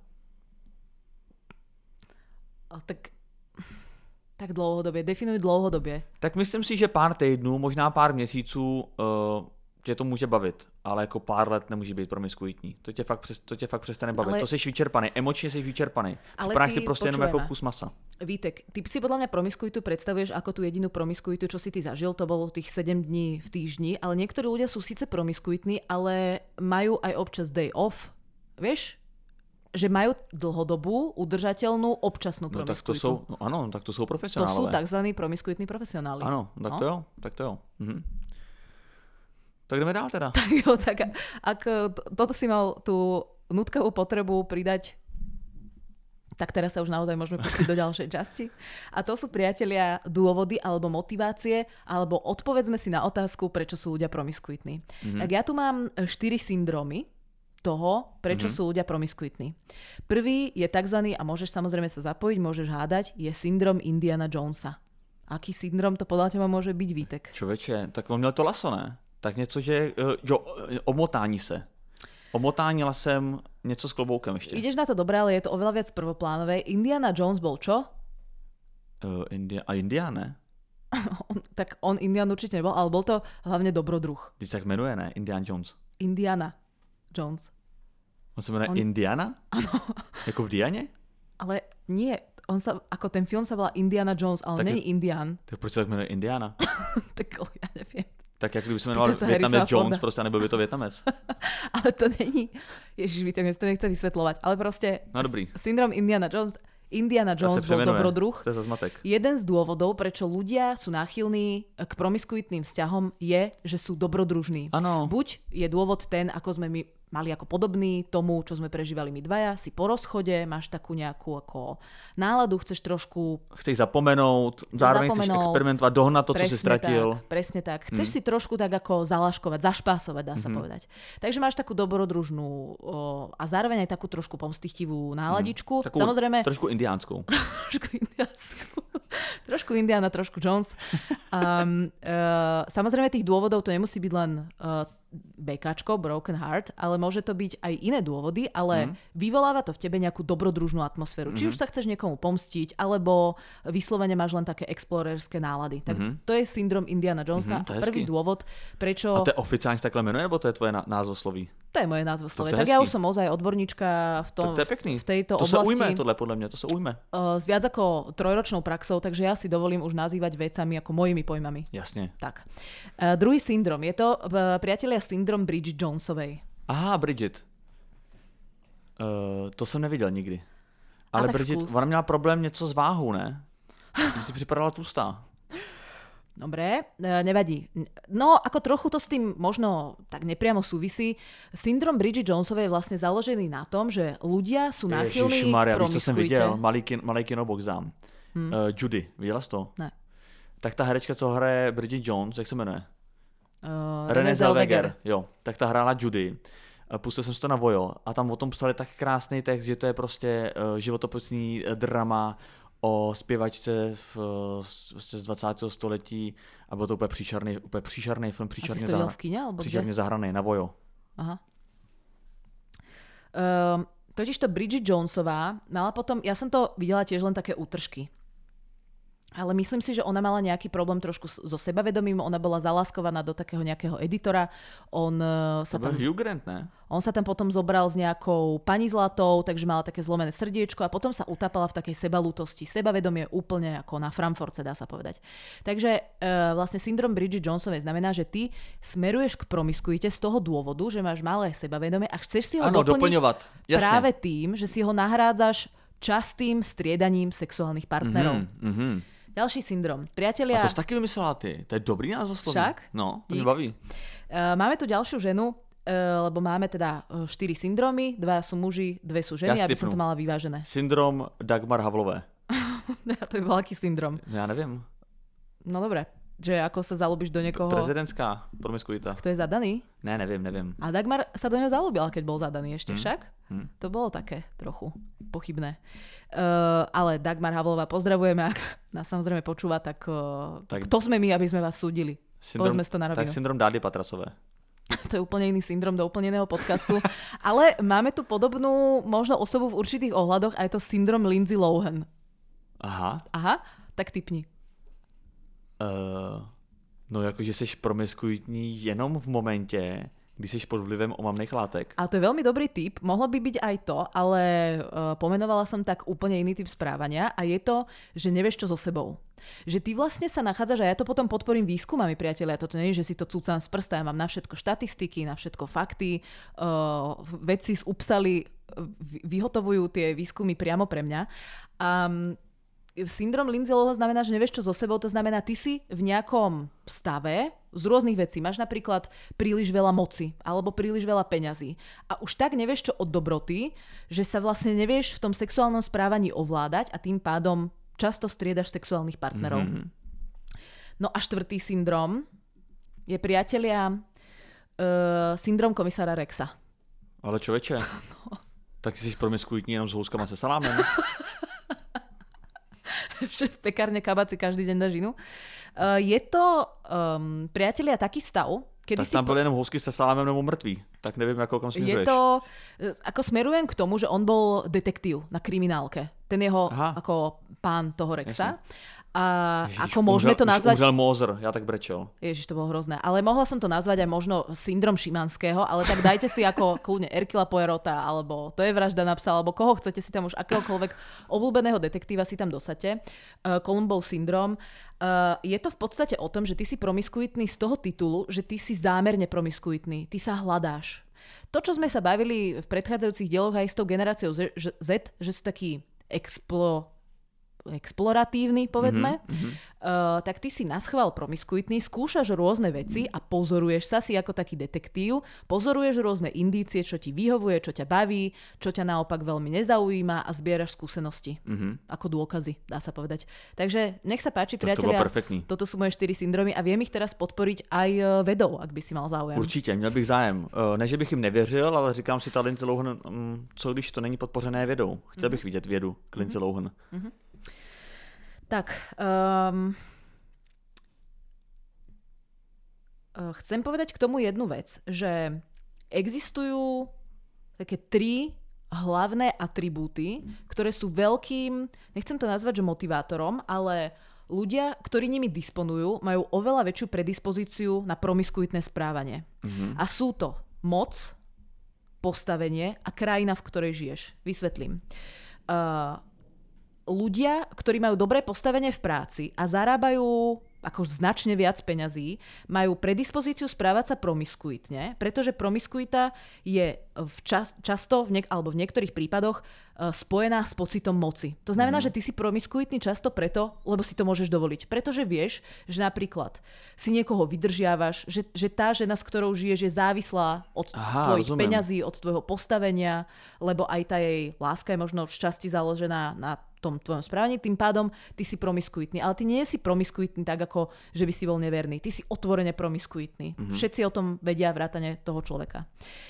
Tak dlouhodobě, definuj dlouhodobě. Tak myslím si, že pár týdnů, možná pár měsíců tě to může bavit, ale jako pár let nemůže být promiskuitní. To tě fakt přestane bavit. Ale... To jsi vyčerpaný, emočně jsi vyčerpaný. Ale Připadáš si prostě jenom jako kus masa. Vítek, ty si podľa mňa promiskuitu predstavuješ ako tú jedinú promiskuitu, čo si ty zažil, to bolo tých 7 dní v týždni, ale niektorí ľudia sú síce promiskuitní, ale majú aj občas day off, vieš? Že majú dlhodobú, udržateľnú, občasnú promiskuitu. No tak to sú, no áno, tak to sú profesionálové. To sú takzvaní promiskuitní profesionáli. Áno, tak to jo, tak to jo. Mhm. Tak jdeme dál teda. Tak jo, tak ak toto si mal tú nutkavú potrebu pridať, tak teraz sa už naozaj môžeme pustiť do ďalšej časti. A to sú, priatelia, dôvody alebo motivácie, alebo odpovedzme si na otázku, prečo sú ľudia promiskuitní. Tak ja tu mám 4 syndrómy toho, prečo sú ľudia promiskuitní. Prvý je takzvaný, a môžeš samozrejme sa zapojiť, môžeš hádať, je syndrom Indiana Jonesa. Aký syndrom to podľa teba môže byť, Vítek? Čověče, tak on měl to laso, ne? Tak něco, že omotání se. Omotání lasem, něco s kloboukem ještě. Ideš na to dobre, ale je to oveľa viac prvoplánové. Indiana Jones bol čo? Indián, ne? Tak on Indian určite nebol, ale bol to hlavne dobrodruh. Když tak jmenuje, ne? Indiana Jones. Indiana Jones. On se jmenuje Indiana? Ano. Jako v Dianě? Ale nie, ako ten film sa volá Indiana Jones, ale není Indian. Tak proč se tak jmenuje Indiana? Tak ja neviem. Tak jak kdyby se jmenoval Vietnamec Jones, prostě nebyl by to Vietnamec. Ale to není, ježiš, víte, mne to nechce vysvetľovať, ale proste no, dobrý. Syndrom Indiana Jones bol dobrodruh. To je za zmatek. Jeden z dôvodov, prečo ľudia sú náchylní k promiskuitným vzťahom, je, že sú dobrodružní. Ano. Buď je dôvod ten, ako sme my mali ako podobný tomu, čo sme prežívali my dvaja, si po rozchode, máš takú nejakú ako náladu, chceš trošku... Chceš zapomenout, zároveň chceš experimentovať, dohnať to, co si stratil. Presne tak. Chceš si trošku tak ako zalaškovať, zašpásovať, dá sa povedať. Takže máš takú dobrodružnú a zároveň aj takú trošku pomstichtivú náladičku. Takú samozrejme... Trošku indiánskou. Trošku Indiana, trošku Jones. Samozrejme tých dôvodov to nemusí byť len BKčko, broken heart, ale môže to byť aj iné dôvody, ale vyvoláva to v tebe nejakú dobrodružnú atmosféru. Či už sa chceš niekomu pomstiť, alebo vyslovene máš len také explorerské nálady. Tak to je syndrom Indiana Jonesa. A prvý dôvod, prečo... A to je oficiálne takhle jmenuje, nebo to je tvoje názvosloví? To je moje názvoslovie. Tak ja už som ozaj odborníčka v tejto to oblasti. To sa ujme, tohle podľa mňa, to sa ujme. S viac ako 3-ročnou praxou, takže ja si dovolím už nazývať vecami ako mojimi pojmami. Jasne. Tak. Druhý syndrom. Je to, priatelia, syndrom Bridget Jonesovej. Aha, Bridget. To jsem neviděl nikdy. Ale Bridget, ona měla problém něco s váhou, ne? Že si připadala tlustá. Dobre, nevadí. No, ako trochu to s tým možno tak nepriamo súvisí. Syndrom Bridget Jonesovej je vlastne založený na tom, že ľudia sú náchylní k promiskuite. Víš, co jsem viděl? Malý kinobox dám. Judy, viděla jsi to? Ne. Tak ta herečka, co hraje Bridget Jones, jak se jmenuje? Renée Zellweger. Jo, tak ta hrála Judy. Pustil jsem si to na Vojo a tam o tom psali tak krásný text, že to je prostě životopisný drama o zpěvačce z 20. století a byl to úplně příšerný film, příšerně zahraný na Vojo. Aha. Totižto Bridget Jonesová mala potom, ja som to videla tiež len také útržky. Ale myslím si, že ona mala nejaký problém trošku so sebavedomím, ona bola zaláskovaná do takého nejakého editora. Hugh Grant, ne? On sa tam potom zobral s nejakou pani zlatou, takže mala také zlomené srdiečko a potom sa utápala v takej sebalútosti. Sebavedomie úplne ako na Frankfurte, dá sa povedať. Takže vlastne syndrom Bridget Jonesovej znamená, že ty smeruješ k promiskuite z toho dôvodu, že máš malé sebavedomie a chceš si ho doplniť práve tým, že si ho nahrádzaš častým striedaním sexuálnych partnerov. Ďalší syndrom. Priatelia... A to si taky vymyslela ty. To je dobrý názvosloví. Však? No, to mi baví. Máme tu ďalšiu ženu, lebo máme teda 4 syndromy, 2 sú muži, 2 sú ženy, aby som to mala vyvážené. Syndrom Dagmar Havlové. To je veľký syndrom. Ja neviem. No dobre. Že ako sa zalúbiš do niekoho... Prezidentská promiskuita. Kto je zadaný? Ne, neviem. A Dagmar sa do neho zalúbila, keď bol zadaný ešte však. To bolo také trochu pochybné. Ale Dagmar Havlová pozdravujeme, ak nás samozrejme počúva, tak kto sme my, aby sme vás súdili? Povedzme si to na rovinu. Tak syndrom Dády Patrasové. To je úplne iný syndrom do úplne iného podcastu. Ale máme tu podobnú možno osobu v určitých ohľadoch a je to syndrom Lindsay Lohan. Aha, tak tipni. No jakože jsi promiskuitní jenom v momentě, když jsi pod vlivem omamných látek. A to je veľmi dobrý tip, mohlo by byť aj to, ale pomenovala som tak úplne iný typ správania a je to, že nevieš čo so sebou. Že ty vlastne sa nachádzaš, a ja to potom podporím výskumami, priatelia, toto nie je, že si to cúcam z prsta, ja mám na všetko štatistiky, na všetko fakty, vedci z Upsaly vyhotovujú tie výskumy priamo pre mňa. Syndrom Lindsay Lohan znamená, že nevieš čo so sebou, to znamená, ty si v nejakom stave z rôznych vecí. Máš napríklad príliš veľa moci alebo príliš veľa peňazí a už tak nevieš čo od dobroty, že sa vlastne nevieš v tom sexuálnom správaní ovládať a tým pádom často striedaš sexuálnych partnerov. No a 4. syndrom je, priatelia, syndrom komisára Rexa. Ale človeče, tak si promiskuitní jenom s houskama se salámem. Že v pekárne Kabaci každý deň dá žinu. Je to, priatelia, taký stav, kedy tak tam byli jenom housky se salámem nebo mrtví. Tak neviem, ako kam směřuješ. Je to, ako smerujem k tomu, že on bol detektív na kriminálke. Ten jeho, ako pán toho Rexa. Jasne. A ježiš, ako môžeme to nazvať... Umřel Moser, ja tak brečel. Ježiš, to bolo hrozné. Ale mohla som to nazvať aj možno syndrom Šimanského, ale tak dajte si ako kľudne Erkila Poirota, alebo To je vražda na psa, alebo koho chcete si tam už akéhokoľvek obľúbeného detektíva si tam dosadte. Columbov syndrom. Je to v podstate o tom, že ty si promiskuitný z toho titulu, že ty si zámerne promiskuitný. Ty sa hľadáš. To, čo sme sa bavili v predchádzajúcich dieloch aj s tou generáciou Z, že sú takí exploratívny, povedzme, tak ty si naschvál promiskuitný, skúšaš rôzne veci a pozoruješ sa si ako taký detektív, pozoruješ rôzne indície, čo ti vyhovuje, čo ťa baví, čo ťa naopak veľmi nezaujíma a zbieraš skúsenosti. Ako dôkazy, dá sa povedať. Takže nech sa páči, priatelia, toto sú moje 4 syndromy a viem ich teraz podporiť aj vedou, ak by si mal záujem. Určitě, měl bych zájem. Ne, že bych jim nevěřil, ale říkám si, ta Lindsay Lohan, co když to není podpořené vědou? Chtěl bych vidět vědu k Lindsay Lohan. chcem povedať k tomu jednu vec, že existujú také 3 hlavné atribúty, ktoré sú veľkým, nechcem to nazvať, že motivátorom, ale ľudia, ktorí nimi disponujú, majú oveľa väčšiu predispozíciu na promiskuitné správanie. A sú to moc, postavenie a krajina, v ktorej žiješ. Vysvetlím. Ľudia, ktorí majú dobré postavenie v práci a zarábajú ako značne viac peňazí, majú predispozíciu správať sa promiskuitne, pretože promiskuita je často, alebo v niektorých prípadoch, spojená s pocitom moci. To znamená, že ty si promiskuitný často preto, lebo si to môžeš dovoliť. Pretože vieš, že napríklad si niekoho vydržiavaš, že tá žena, s ktorou žiješ, je závislá od tvojich peňazí, od tvojho postavenia, lebo aj tá jej láska je možno v časti založená na tom tvojom správaní, tým pádom ty si promiskuitný. Ale ty nie si promiskuitný tak, ako že by si bol neverný. Ty si otvorene promiskuitný. Všetci o tom vedia vrátane toho človeka.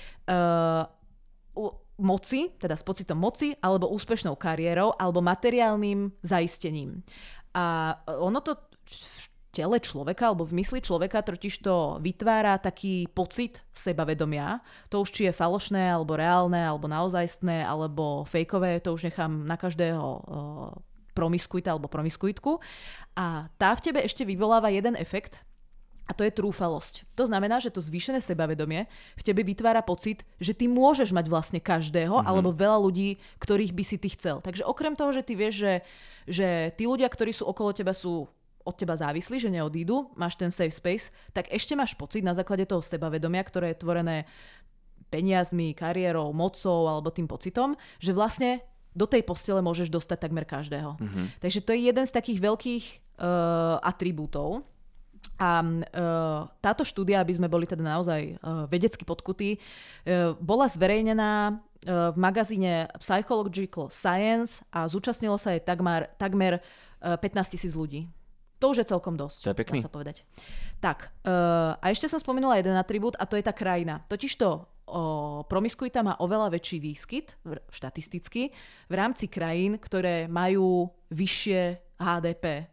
Moci, teda s pocitom moci, alebo úspešnou kariérou, alebo materiálnym zaistením. A ono to v tele človeka, alebo v mysli človeka totiž to vytvára taký pocit sebavedomia. To už či je falošné, alebo reálne, alebo naozajstné, alebo fejkové, to už nechám na každého promiskuita alebo promiskuitku. A tá v tebe ešte vyvoláva jeden efekt, a to je trúfalosť. To znamená, že to zvýšené sebavedomie v tebe vytvára pocit, že ty môžeš mať vlastne každého, alebo veľa ľudí, ktorých by si ty chcel. Takže okrem toho, že ty vieš, že tí ľudia, ktorí sú okolo teba, sú od teba závislí, že neodídu, máš ten safe space, tak ešte máš pocit na základe toho sebavedomia, ktoré je tvorené peniazmi, kariérou, mocou alebo tým pocitom, že vlastne do tej postele môžeš dostať takmer každého. Takže to je jeden z takých veľkých atribútov. A táto štúdia, aby sme boli teda naozaj vedecky podkutí, bola zverejnená v magazíne Psychological Science a zúčastnilo sa jej takmer 15,000 ľudí. To už je celkom dosť. To je pekný. Dá sa povedať. Tak, a ešte som spomenula jeden atribút a to je tá krajina. Totižto promiskuita má oveľa väčší výskyt, štatisticky, v rámci krajín, ktoré majú vyššie HDP.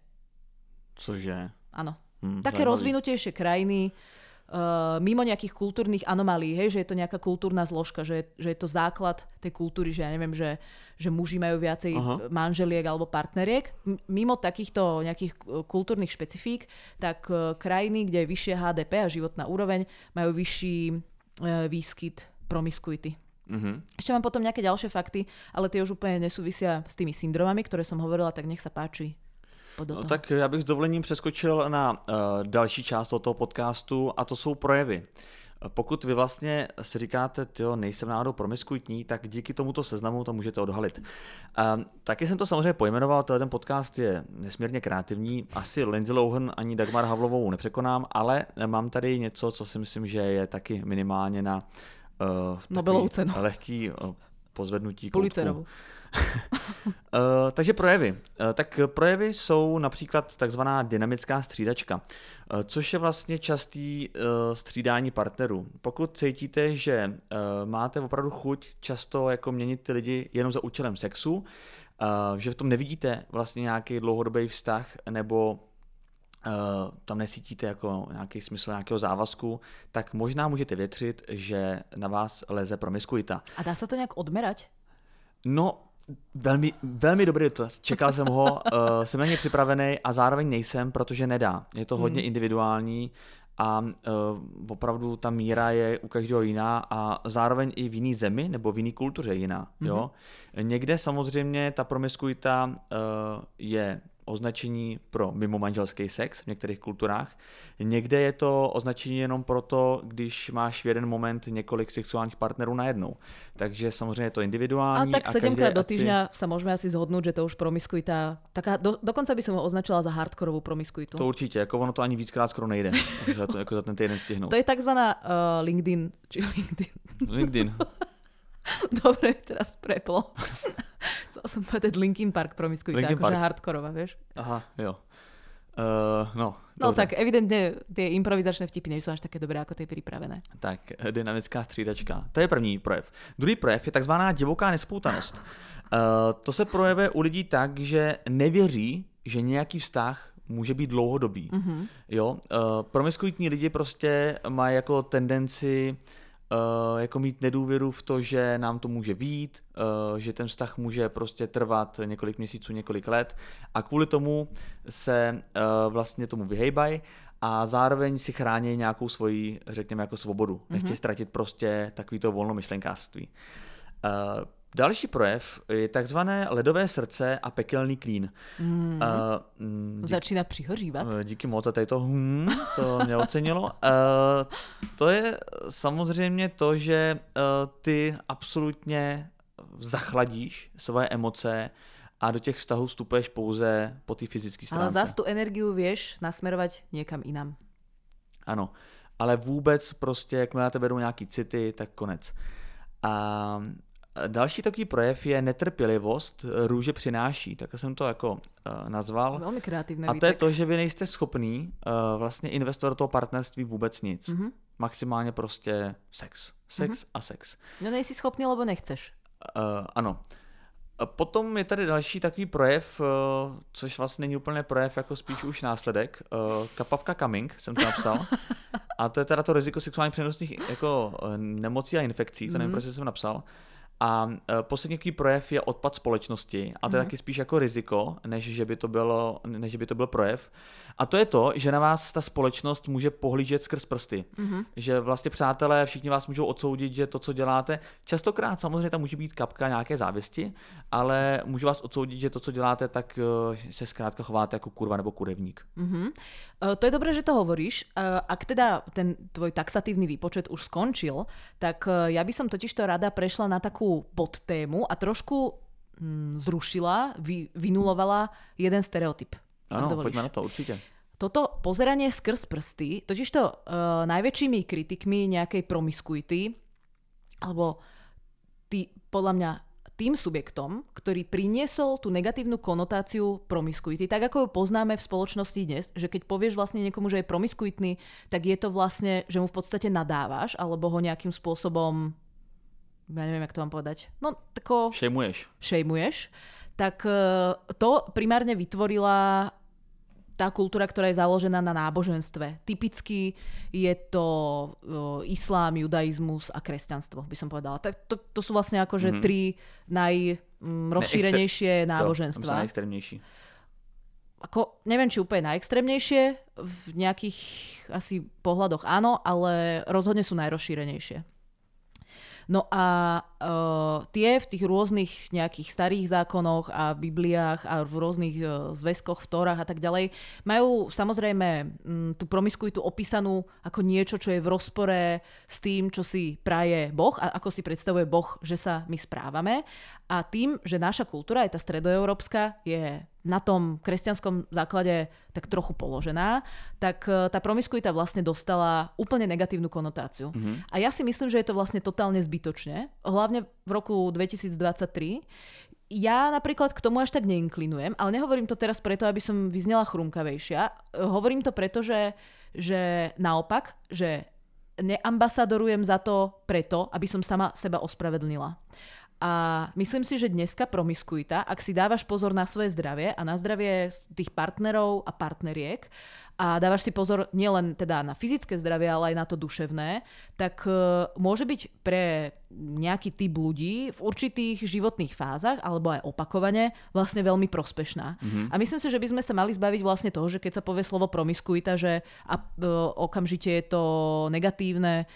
Cože? Áno. Také rozvinutejšie krajiny, mimo nejakých kultúrnych anomálií, hej, že je to nejaká kultúrna zložka, že je to základ tej kultúry, že ja neviem, že muži majú viacej manželiek alebo partneriek. Mimo takýchto nejakých kultúrnych špecifík, tak krajiny, kde je vyššie HDP a životná úroveň, majú vyšší výskyt promiskuity. Ešte mám potom nejaké ďalšie fakty, ale tie už úplne nesúvisia s tými syndromami, ktoré som hovorila, tak nech sa páči. No, tak já bych s dovolením přeskočil na další část tohoto podcastu a to jsou projevy. Pokud vy vlastně si říkáte, tyjo, nejsem náhodou promiskuitní, tak díky tomuto seznamu to můžete odhalit. Taky jsem to samozřejmě pojmenoval, ten podcast je nesmírně kreativní, asi Lindsay Lohan ani Dagmar Havlovou nepřekonám, ale mám tady něco, co si myslím, že je taky minimálně na Nobelovu cenu. Lehký pozvednutí koutku. Pulitzerovu. Takže projevy. Tak projevy jsou například takzvaná dynamická střídačka, což je vlastně častý střídání partnerů. Pokud cítíte, že máte opravdu chuť často jako měnit ty lidi jenom za účelem sexu, že v tom nevidíte vlastně nějaký dlouhodobý vztah nebo tam nesítíte jako nějaký smysl nějakého závazku, tak možná můžete větřit, že na vás leze promiskuita. A dá se to nějak odmerať? No, velmi, velmi dobrý dotaz. Čekal jsem ho, jsem na něj připravený a zároveň nejsem, protože nedá. Je to hodně individuální a opravdu ta míra je u každého jiná a zároveň i v jiný zemi nebo v jiný kultuře jiná. Jo? Někde samozřejmě ta promiskuita je označení pro mimomanželský sex v některých kulturách. Někde je to označení jenom proto, když máš v jeden moment několik sexuálních partnerů najednou. Takže samozřejmě je to individuální. A tak 7-krát do týždňa sa môžeme asi zhodnúť, že to už promiskuita, taká, dokonca by som ho označila za hardkorovú promiskuitu. To určitě, jako ono to ani víckrát skoro nejde, jako za ten týden stihnout. To je takzvaná LinkedIn, či LinkedIn. LinkedIn. Dobre, teraz preplo. Chcel som povedať Linkin Park promiskuita, akože hardkorová, vieš? Aha, jo. No tak evidentne tie improvizačné vtipy nejsou až také dobré, ako tie pripravené. Tak, dynamická střídačka. To je první projev. Druhý projev je takzvaná divoká nespoutanost. To se projevuje u lidí tak, že nevěří, že nějaký vztah může být dlouhodobý. Jo? Promiskuitní lidi prostě mají jako tendenci jako mít nedůvěru v to, že nám to může vyjít, že ten vztah může prostě trvat několik měsíců, několik let a kvůli tomu se vlastně tomu vyhejbají a zároveň si chrání nějakou svoji, řekněme, jako svobodu. Nechtějí ztratit prostě takovýto volnomyšlenkářství. Další projev je takzvané ledové srdce a pekelný klín. Začíná přihořívat. Díky moc za to mě ocenilo. To je samozřejmě to, že ty absolutně zachladíš svoje emoce a do těch vztahů vstupuješ pouze po té fyzické stránce. Ale zás tu energiu vieš nasmerovať niekam inam. Ano, ale vůbec prostě, jakmile na tebe jdou nějaký city, tak konec. A další takový projev je netrpělivost růže přináší, tak jsem to jako nazval. Velmi kreativní. A to je to, že vy nejste schopný vlastně investovat do toho partnerství vůbec nic. Maximálně prostě sex. Sex a sex. No nejsi schopný, lebo nechceš. Ano. Potom je tady další takový projev, což vlastně není úplně projev, jako spíš už následek. Kapavka coming jsem to napsal. A to je teda to riziko sexuálně přenosných jako nemocí a infekcí, to nevím, proč jsem napsal. A poslední takový projev je odpad společnosti a to je taky spíš jako riziko, než že by to byl projev. A to je to, že na vás ta společnost může pohlížet skrz prsty. Že vlastně přátelé, všichni vás můžou odsoudit, že to, co děláte, častokrát samozřejmě tam může být kapka nějaké závisti, ale můžu vás odsoudit, že to, co děláte, tak se zkrátka chováte jako kurva nebo kurevník. To je dobré, že to hovoríš. Ak teda ten tvoj taxatívny výpočet už skončil, tak ja by som totižto rada prešla na takú podtému a trošku zrušila, vynulovala jeden stereotyp. Ano, poďme na to, určite. Toto pozeranie skrz prsty, totižto najväčšími kritikmi nejakej promiskuity, alebo podľa mňa tým subjektom, ktorý priniesol tú negatívnu konotáciu promiskuity, tak ako ju poznáme v spoločnosti dnes, že keď povieš vlastne niekomu, že je promiskuitný, tak je to vlastne, že mu v podstate nadávaš, alebo ho nejakým spôsobom, ja neviem, jak to mám povedať, no tako... Šejmuješ. Tak to primárne vytvorila tá kultúra, ktorá je založená na náboženstve. Typicky je to islám, judaizmus a kresťanstvo, by som povedala. Tak to sú vlastne akože tri najrozšírenejšie náboženstva. Jo, najextrémnejší. Ako, neviem, či úplne najextrémnejšie, v nejakých asi pohľadoch áno, ale rozhodne sú najrozšírenejšie. No a tie v tých rôznych nejakých starých zákonoch a Bibliách a v rôznych zväzkoch, v Tórach a tak ďalej majú samozrejme tú promiskuitu opísanú ako niečo, čo je v rozpore s tým, čo si praje Boh a ako si predstavuje Boh, že sa my správame. A tým, že naša kultúra, aj tá stredoeurópska, je na tom kresťanskom základe tak trochu položená, tak tá promiskuita vlastne dostala úplne negatívnu konotáciu. A ja si myslím, že je to vlastne totálne zbytočne, hlavne v roku 2023. Ja napríklad k tomu až tak neinklinujem, ale nehovorím to teraz preto, aby som vyznela chrumkavejšia. Hovorím to preto, že naopak, že neambasadorujem za to preto, aby som sama seba ospravedlnila. A myslím si, že dneska promiskuita, ak si dávaš pozor na svoje zdravie a na zdravie tých partnerov a partneriek a dávaš si pozor nielen teda na fyzické zdravie, ale aj na to duševné, tak môže byť pre nejaký typ ľudí v určitých životných fázach alebo aj opakovane vlastne veľmi prospešná. A myslím si, že by sme sa mali zbaviť vlastne toho, že keď sa povie slovo promiskuita, že okamžite je to negatívne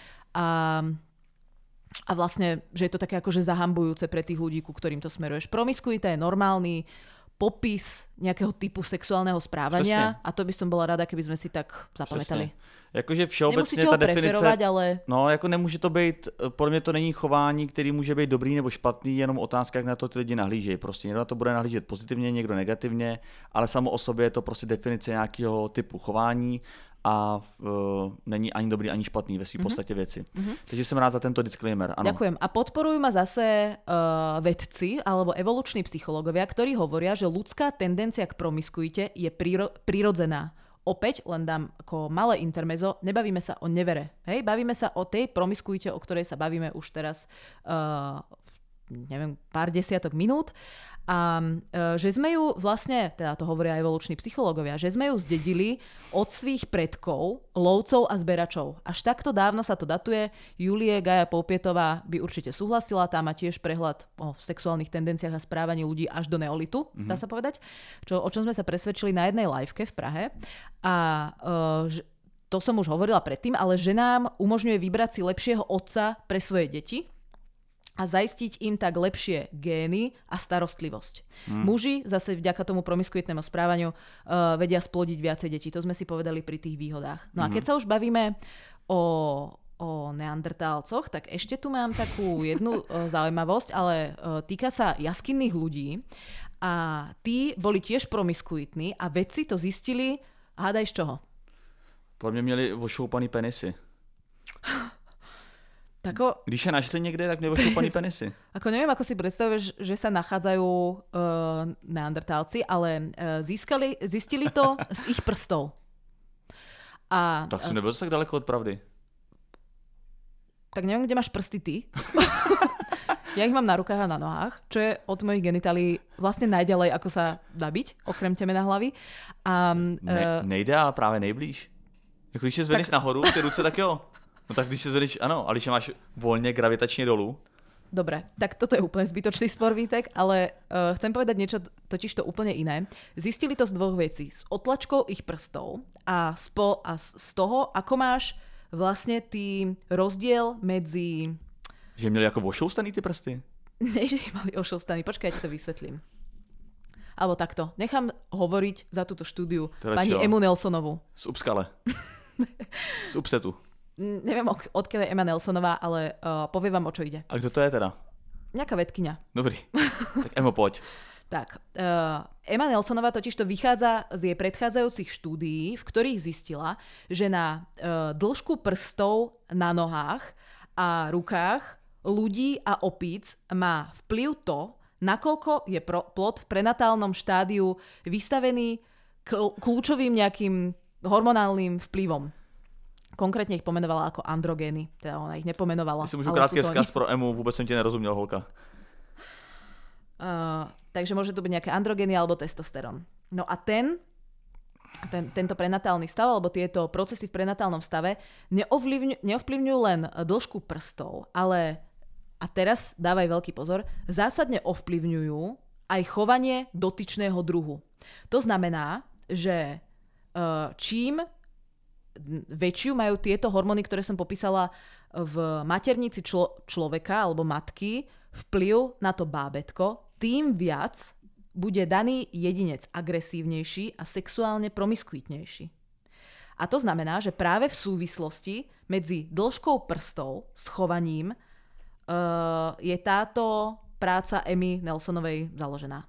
a vlastne, že je to také akože zahambujúce pre tých ľudí, ku ktorým to smeruješ. Promiskuita je normálny popis nejakého typu sexuálneho správania. Přesně. A to by som bola rada, keby sme si tak zapamätali. Jakože všeobecně ta definice, ale... no jako nemůže to být, podle mě to není chování, který může být dobrý nebo špatný, jenom otázka, jak na to ty lidi nahlížejí. Prostě někdo na to bude nahlížet pozitivně, někdo negativně, ale samo o sobě je to prostě definice nějakého typu chování a není ani dobrý, ani špatný ve svým podstatě věci. Takže jsem rád za tento disclaimer. Ano. Ďakujem. A podporujú ma zase vedci alebo evoluční psychológovia, ktorí hovoria, že ľudská tendencia k promiskuite je prirodzená. Opäť len dám ako malé intermezo, nebavíme sa o nevere. Hej? Bavíme sa o tej promiskuite, o ktorej sa bavíme už teraz neviem, pár desiatok minút a že sme ju vlastne, teda to hovoria aj evoluční psychológovia, že sme ju zdedili od svých predkov, lovcov a zberačov. Až takto dávno sa to datuje. Julie Gaja Poupietová by určite súhlasila, tá má tiež prehľad o sexuálnych tendenciách a správaní ľudí až do neolitu, dá sa povedať, o čom sme sa presvedčili na jednej liveke v Prahe. A to som už hovorila predtým, ale že nám umožňuje vybrať si lepšieho otca pre svoje deti a zaistiť im tak lepšie gény a starostlivosť. Muži zase vďaka tomu promiskuitnému správaniu vedia splodiť viacej detí. To sme si povedali pri tých výhodách. No a keď sa už bavíme o neandertálcoch, tak ešte tu mám takú jednu zaujímavosť, ale týka sa jaskinných ľudí a tí boli tiež promiskuitní a vedci to zistili, hádaj z čoho? Podľa mňa měli ošoupaný penisy. Když je našli niekde, tak měli ošoupaný penisy. Ako neviem, ako si predstavuješ, že sa nachádzajú neandertálci, ale zistili to z ich prstov. Tak si nebyl tak daleko od pravdy. Tak neviem, kde máš prsty ty. Ja ich mám na rukách a na nohách, čo je od mojich genitálií vlastne najďalej, ako sa dá byť, okrem temena hlavy. Nejde, ale práve nejblíž. Jako když se zvedneš nahoru, ty ruce, tak jo. No tak když se zvedneš, ano, ale když máš voľne gravitačne dolu. Dobre, tak toto je úplne zbytočný spor, Vítek, ale chcem povedať niečo totiž to úplne iné. Zistili to z dvoch vecí. Z otlačkov ich prstov a z toho, ako máš vlastne tý rozdiel medzi... Že měli ako vošoustaný ty prsty? Ne, že ich mali ošoustaný. Počkaj, ja ti to vysvetlím. Alebo takto. Nechám hovoriť za túto štúdiu pani Emu Nelsonovú. Z Upskale. Z Upsetu. Neviem, odkiaľ je Emma Nelsonová, ale poviem vám, o čo ide. A kto to je teda? Nejaká vedkyňa. Dobrý. Tak Emo, poď. Tak, Emma Nelsonová totiž to vychádza z jej predchádzajúcich štúdií, v ktorých zistila, že na dĺžku prstov na nohách a rukách ľudí a opíc má vplyv to, nakoľko je plod v prenatálnom štádiu vystavený kľúčovým nejakým hormonálnym vplyvom. Konkrétne ich pomenovala ako androgény. Teda ona ich nepomenovala. Jestli môžu krátký vzkaz pro Emu, vôbec som ti nerozumiel, holka. Takže môže to byť nejaké androgény alebo testosterón. No a tento prenatálny stav, alebo tieto procesy v prenatálnom stave neovplyvňujú len dĺžku prstov, ale, a teraz dávaj veľký pozor, zásadne ovplyvňujú aj chovanie dotyčného druhu. To znamená, že čím väčšiu majú tieto hormóny, ktoré som popísala v maternici človeka alebo matky, vplyv na to bábätko, tým viac bude daný jedinec agresívnejší a sexuálne promiskuitnejší. A to znamená, že práve v súvislosti medzi dĺžkou prstov s chovaním je táto práca Emmy Nelsonovej založená.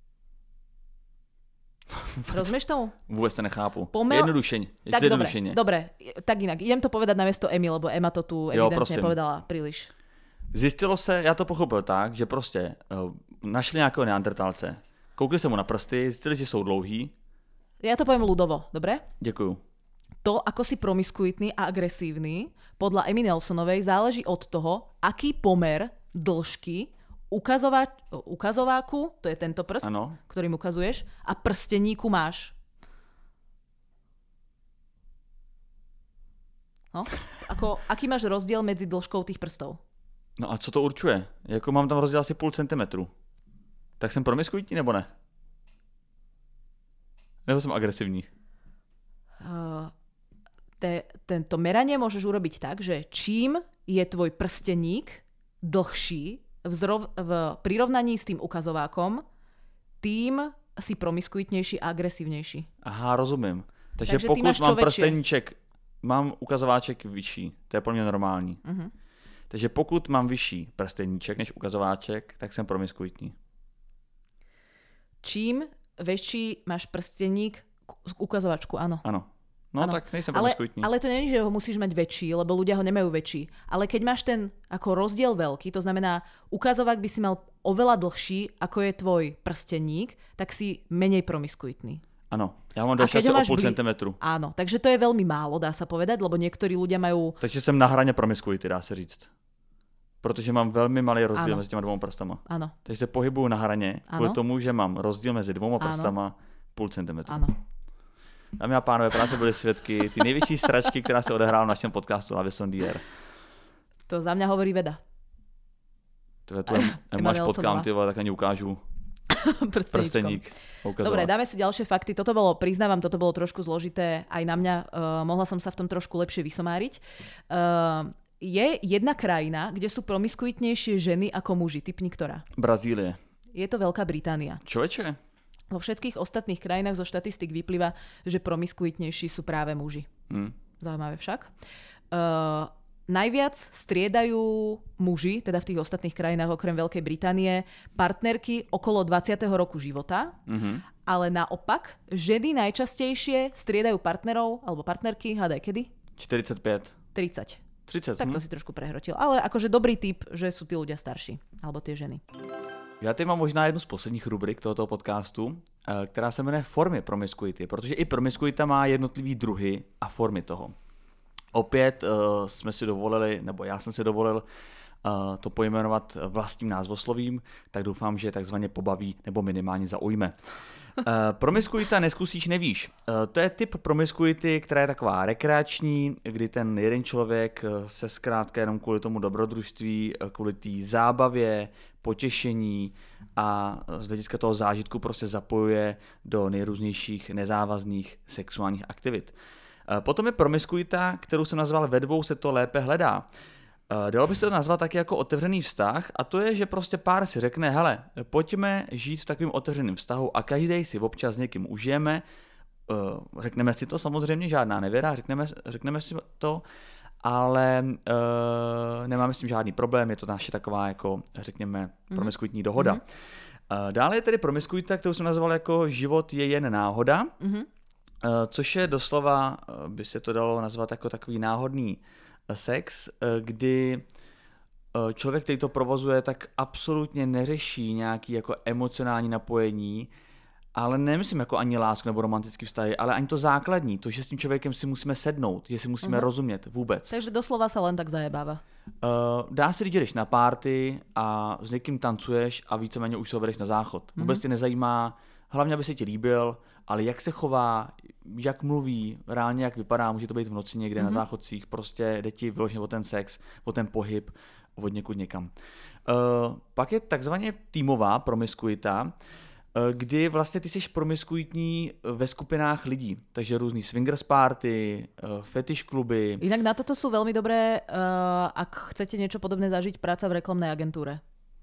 Rozumieš tomu? Vôbec to nechápu. Jednodušene. Dobre, tak inak. Idem to povedať namiesto Emmy, lebo Emma to tu evidentne povedala príliš. Zistilo se, já to pochopil tak, že prostě našli nějakého neandertálce, koukli se mu na prsty, zjistili, že jsou dlouhý. Ja to poviem ľudovo, dobre? Děkuju. To, ako si promiskuitný a agresívny, podľa Emmy Nelsonovej záleží od toho, aký pomer dĺžky ukazováku, to je tento prst, ano, ktorým ukazuješ, a prsteníku máš. No? Aký máš rozdiel medzi dĺžkou tých prstov? No a co to určuje? Jako mám tam rozdiel asi 0,5 centimetru. Tak jsem promiskuitní nebo ne? Nebo som agresívny? Tento meranie môžeš urobiť tak, že čím je tvoj prsteník dlhší v prirovnaní s tým ukazovákom, tým si promiskuitnejší a agresívnejší. Aha, rozumím. Takže pokud mám prsteníček, mám ukazováček vyšší, to je pro mě normální. Uh-huh. Takže pokud mám vyšší prsteníček než ukazováček, tak jsem promiskuitní. Čím väčší máš prsteník, ukazovačku, áno. Áno. No ano. Tak nejsem promiskuitní. Ale to nie je, že ho musíš mať väčší, lebo ľudia ho nemajú väčší. Ale keď máš ten ako rozdiel veľký, to znamená ukazovák by si mal oveľa dlhší, ako je tvoj prsteník, tak si menej promiskuitný. Áno, ja mám dlhšie asi o 0,5 centimetru. Áno, takže to je veľmi málo, dá sa povedať, lebo niektorí ľudia majú... Takže som na hraně promiskuity, dá sa říct. Protože mám velmi malý rozdíl mezi těma 2 prstama. Ano. Takže se pohybuju na hraně kvůli tomu, že mám rozdíl mezi 2 prstama 0,5 centimetru. Ano. Dámy a pánové, právě jsme byli svědky ty největší sračky, která se odehrála v našem podcastu La Maison d'Hier. To za mňa hovorí veda. Tu máš potkám, ty vole, tak ani ukážu. Prsteník. Dobre, dáme si ďalšie fakty. Toto bolo trošku zložité aj na mňa. Mohla som sa v tom trošku lepšie vysomáriť. Je jedna krajina, kde sú promiskuitnejšie ženy ako muži. Tipni ktorá? Brazílie. Je to Veľká Británia. Čoveče? Vo všetkých ostatných krajinách zo štatistik vyplýva, že promiskuitnejší sú práve muži. Zaujímavé však. Najviac striedajú muži, teda v tých ostatných krajinách okrem Veľkej Británie, partnerky okolo 20. roku života, ale naopak ženy najčastejšie striedajú partnerov alebo partnerky, hádaj kedy? 45. 30. Tak to si trošku prehrotil. Ale akože dobrý tip, že sú tí ľudia starší, alebo tie ženy. Já tady mám možná jednu z posledních rubrik tohoto podcastu, která se jmenuje formy promiskuity, protože i promiskuita má jednotlivý druhy a formy toho. Opět jsme si dovolili, nebo já jsem si dovolil to pojmenovat vlastním názvoslovím, tak doufám, že takzvaně pobaví nebo minimálně zaujme. Promiskuita neskusíš, nevíš. To je typ promiskuity, která je taková rekreační, kdy ten jeden člověk se zkrátka jenom kvůli tomu dobrodružství, kvůli té zábavě, potěšení a z hlediska toho zážitku prostě zapojuje do nejrůznějších nezávazných sexuálních aktivit. Potom je promiskuita, kterou jsem nazval ve dvou se to lépe hledá. Dalo by se to nazvat taky jako otevřený vztah a to je, že prostě pár si řekne, hele, pojďme žít v takovém otevřeném vztahu a každý si občas s někým užijeme, řekneme si to samozřejmě, žádná nevěra, řekneme si to, ale nemáme s tím žádný problém, je to naše taková jako, řekněme, promiskuitní dohoda. Dále je tedy promiskuita, kterou jsem nazval jako život je jen náhoda, což je doslova, by se to dalo nazvat jako takový náhodný sex, kdy člověk, který to provozuje, tak absolutně neřeší nějaký jako emocionální napojení, ale nemyslím jako ani lásku nebo romantický vztahy, ale ani to základní, to, že s tím člověkem si musíme sednout, že si musíme rozumět vůbec. Takže doslova se len tak zajebáva. Dá se říct, že jdeš na party a s někým tancuješ a víceméně už se ho vedeš na záchod. Vůbec tě nezajímá, hlavně aby se ti líbil, ale jak se chová, jak mluví, reálně jak vypadá, může to být v noci někde na záchodcích, prostě jde ti vyloženě o ten sex, o ten pohyb, od někud někam. Pak je takzvaně týmová promiskuita, kdy vlastně ty jsi promiskuitní ve skupinách lidí, takže různý swingers party, fetish kluby. Inak na toto sú veľmi dobré, ak chcete niečo podobné zažiť, práca v reklamnej agentúre.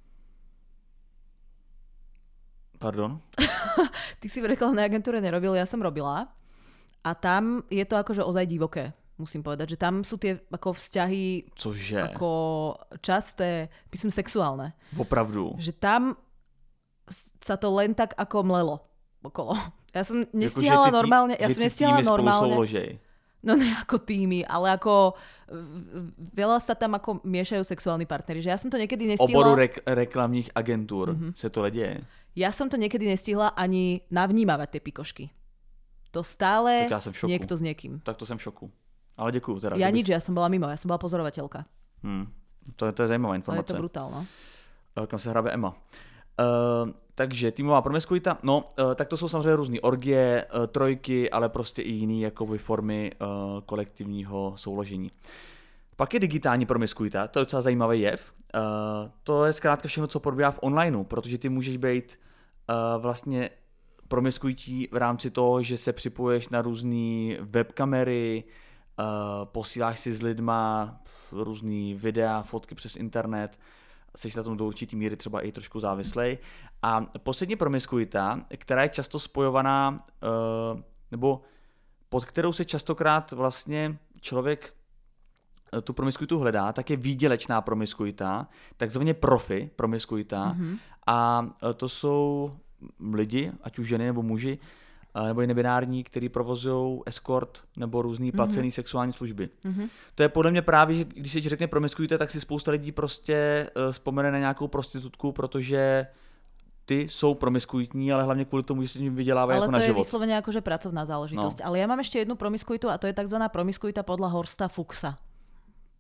Pardon? Ty si v reklamnej agentúre nerobil, ja som robila a tam je to akože ozaj divoké. Musím povedať, že tam sú tie ako vzťahy ako časté, myslím sexuálne. Opravdu. Že tam sa to len tak ako mlelo okolo. Ja som nestihala normálne. Ja som nestihala normálne. No ne ako týmy, ale ako veľa sa tam ako miešajú sexuálni partneri. Že ja som to niekedy nestihla. V oboru reklamních agentúr se to deje. Ja som to niekedy nestihla ani navnímavať tie pikošky. To stále niekto s niekým. Tak to som v šoku. Ale děkuju. Teda, ja nič, ja som bola mimo, ja som bola pozorovateľka. To je zajímavá informace. Ale je to brutálno. Kam se hrabe Emma. Takže týmová promiskuita, tak to jsou samozřejmě různý orgie, trojky, ale prostě i jiný jakoby formy kolektivního souložení. Pak je digitální promiskuita, to je docela zajímavý jev. To je zkrátka všechno, co probíhá v onlineu, protože ty můžeš být vlastně promiskuití v rámci toho, že se připoješ na různé webkamery, posíláš si s lidma různý videa, fotky přes internet, jsi na tom do určitý míry třeba i trošku závislej. A poslední promiskuita, která je často spojovaná, nebo pod kterou se častokrát vlastně člověk tu promiskuitu hledá, tak je výdělečná promiskuita, takzvaně profi promiskuita. A to jsou lidi, ať už ženy nebo muži, nebo i nebinární, který provozují escort nebo různý placený sexuální služby. To je podle mě právě, že když se řekne promiskuita, tak si spousta lidí prostě vzpomene na nějakou prostitutku, protože ty jsou promiskuitní, ale hlavně kvůli tomu, že si tím vydělávají jako na život. Ale to je vyslovene akože pracovná záležitosť. No. Ale ja mám ešte jednu promiskuitu a to je takzvaná promiskuita podľa Horsta Fuchsa.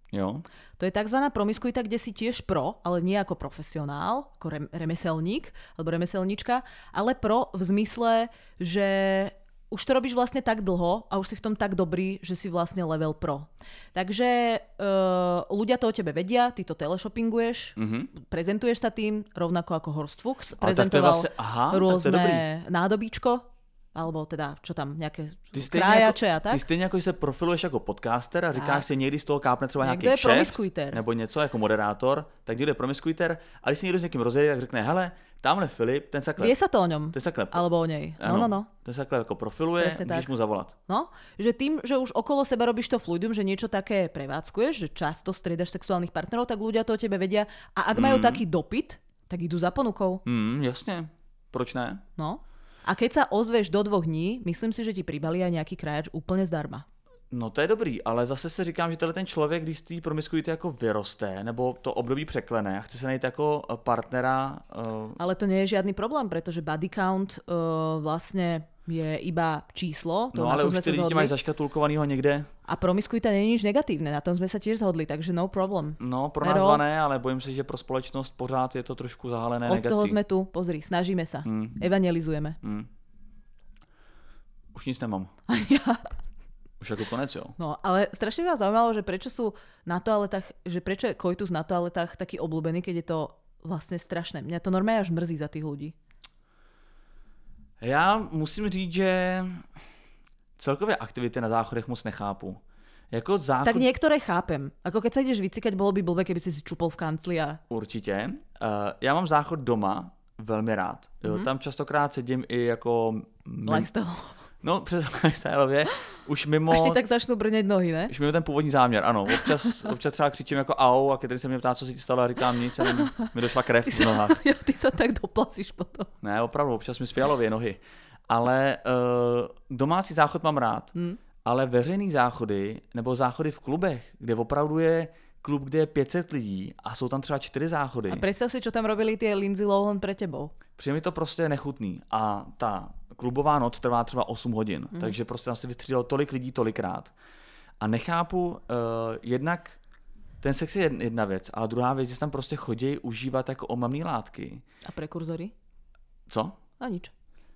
Jo. To je tzv. Promiskuita, kde si tiež pro, ale nie ako profesionál, ako remeselník alebo remeselnička, ale pro v zmysle, že už to robíš vlastne tak dlho a už si v tom tak dobrý, že si vlastne level pro. Takže ľudia to o tebe vedia, ty to teleshoppinguješ, prezentuješ sa tým, rovnako ako Horst Fuchs, prezentoval rôzne nádobíčko, alebo teda, čo tam, nějaké krájače a tak. Ty stejně jako, že se profiluješ jako podcaster a říkáš si, někdy z toho kápne třeba nějaký kšeft, nebo něco jako moderátor, tak někdo je promiskuiter, a když si někdo s někým rozjede, tak řekne, hele, tamhle Filip, ten sa klep. Vie sa to o ňom, alebo o nej. No. Ten sa klep jako profiluje, můžeš mu zavolat. No, že tým, že už okolo seba robíš to fluidum, že niečo také prevádzkuješ, že často striedaš sexuálnych partnerov, tak ľudia to o tebe vedia a ak majú taký dopyt, tak idú za ponukou. Jasne, proč ne? No. A keď sa ozveš do 2 dní, myslím si, že ti pribalí aj nejaký krajač úplne zdarma. No to je dobrý, ale zase si říkám, že ten člověk, když z té promiskuity jako vyroste, nebo to období překlene a chce se najít jako partnera... Ale to nie je žiadny problém, pretože body count vlastne je iba číslo. No ale už ty lidi mají zaškatulkovanýho někde. A promiskuita nie je nič negatívne, na tom sme sa tiež zhodli, takže no problem. No pro nás dva ne, ale bojím se, že pro společnost pořád je to trošku zahalené negací. Od toho sme tu, pozri, snažíme sa, evangelizujeme. Už nic nemám. Už ako konec, jo. No, ale strašne ma zaujímalo, že prečo sú na toaletách, že prečo je koitus na toaletách taký obľúbený, keď je to vlastne strašné. Mňa to normálne až mrzí za tých ľudí. Já musím říct, že celkové aktivity na záchodech moc nechápu. Jako záchod... Tak niektoré chápem. Ako keď sa ideš vycikať, bolo by blbé, keby si čupol v kancli a... Určitě. Já mám záchod doma velmi rád. Tam častokrát sedím i jako... Lifestyle. No, přes lifestyleově. Už mimo... Až ti tak začnou brnět nohy, ne? Už mimo ten původní záměr, ano. Občas třeba křičím jako au a když se mě ptá, co se ti stalo, a říkám nic, jenom mi došla krev v nohách. Ty se tak doplasíš potom. Ne, opravdu, občas mi svělově nohy. Ale domácí záchod mám rád. Ale veřejný záchody, nebo záchody v klubech, kde opravdu je klub, kde je 500 lidí a jsou tam třeba 4 záchody. A představ si, čo tam robili ty Lindsay Lohan pre tebou. Přijde mi to prostě nechutný. A ta klubová noc trvá třeba 8 hodin, takže prostě tam se vystřídalo tolik lidí tolikrát. A nechápu, jednak ten sex je jedna věc, ale druhá věc, že tam prostě chodí užívat jako omamné látky. A prekurzory? Co? A nič.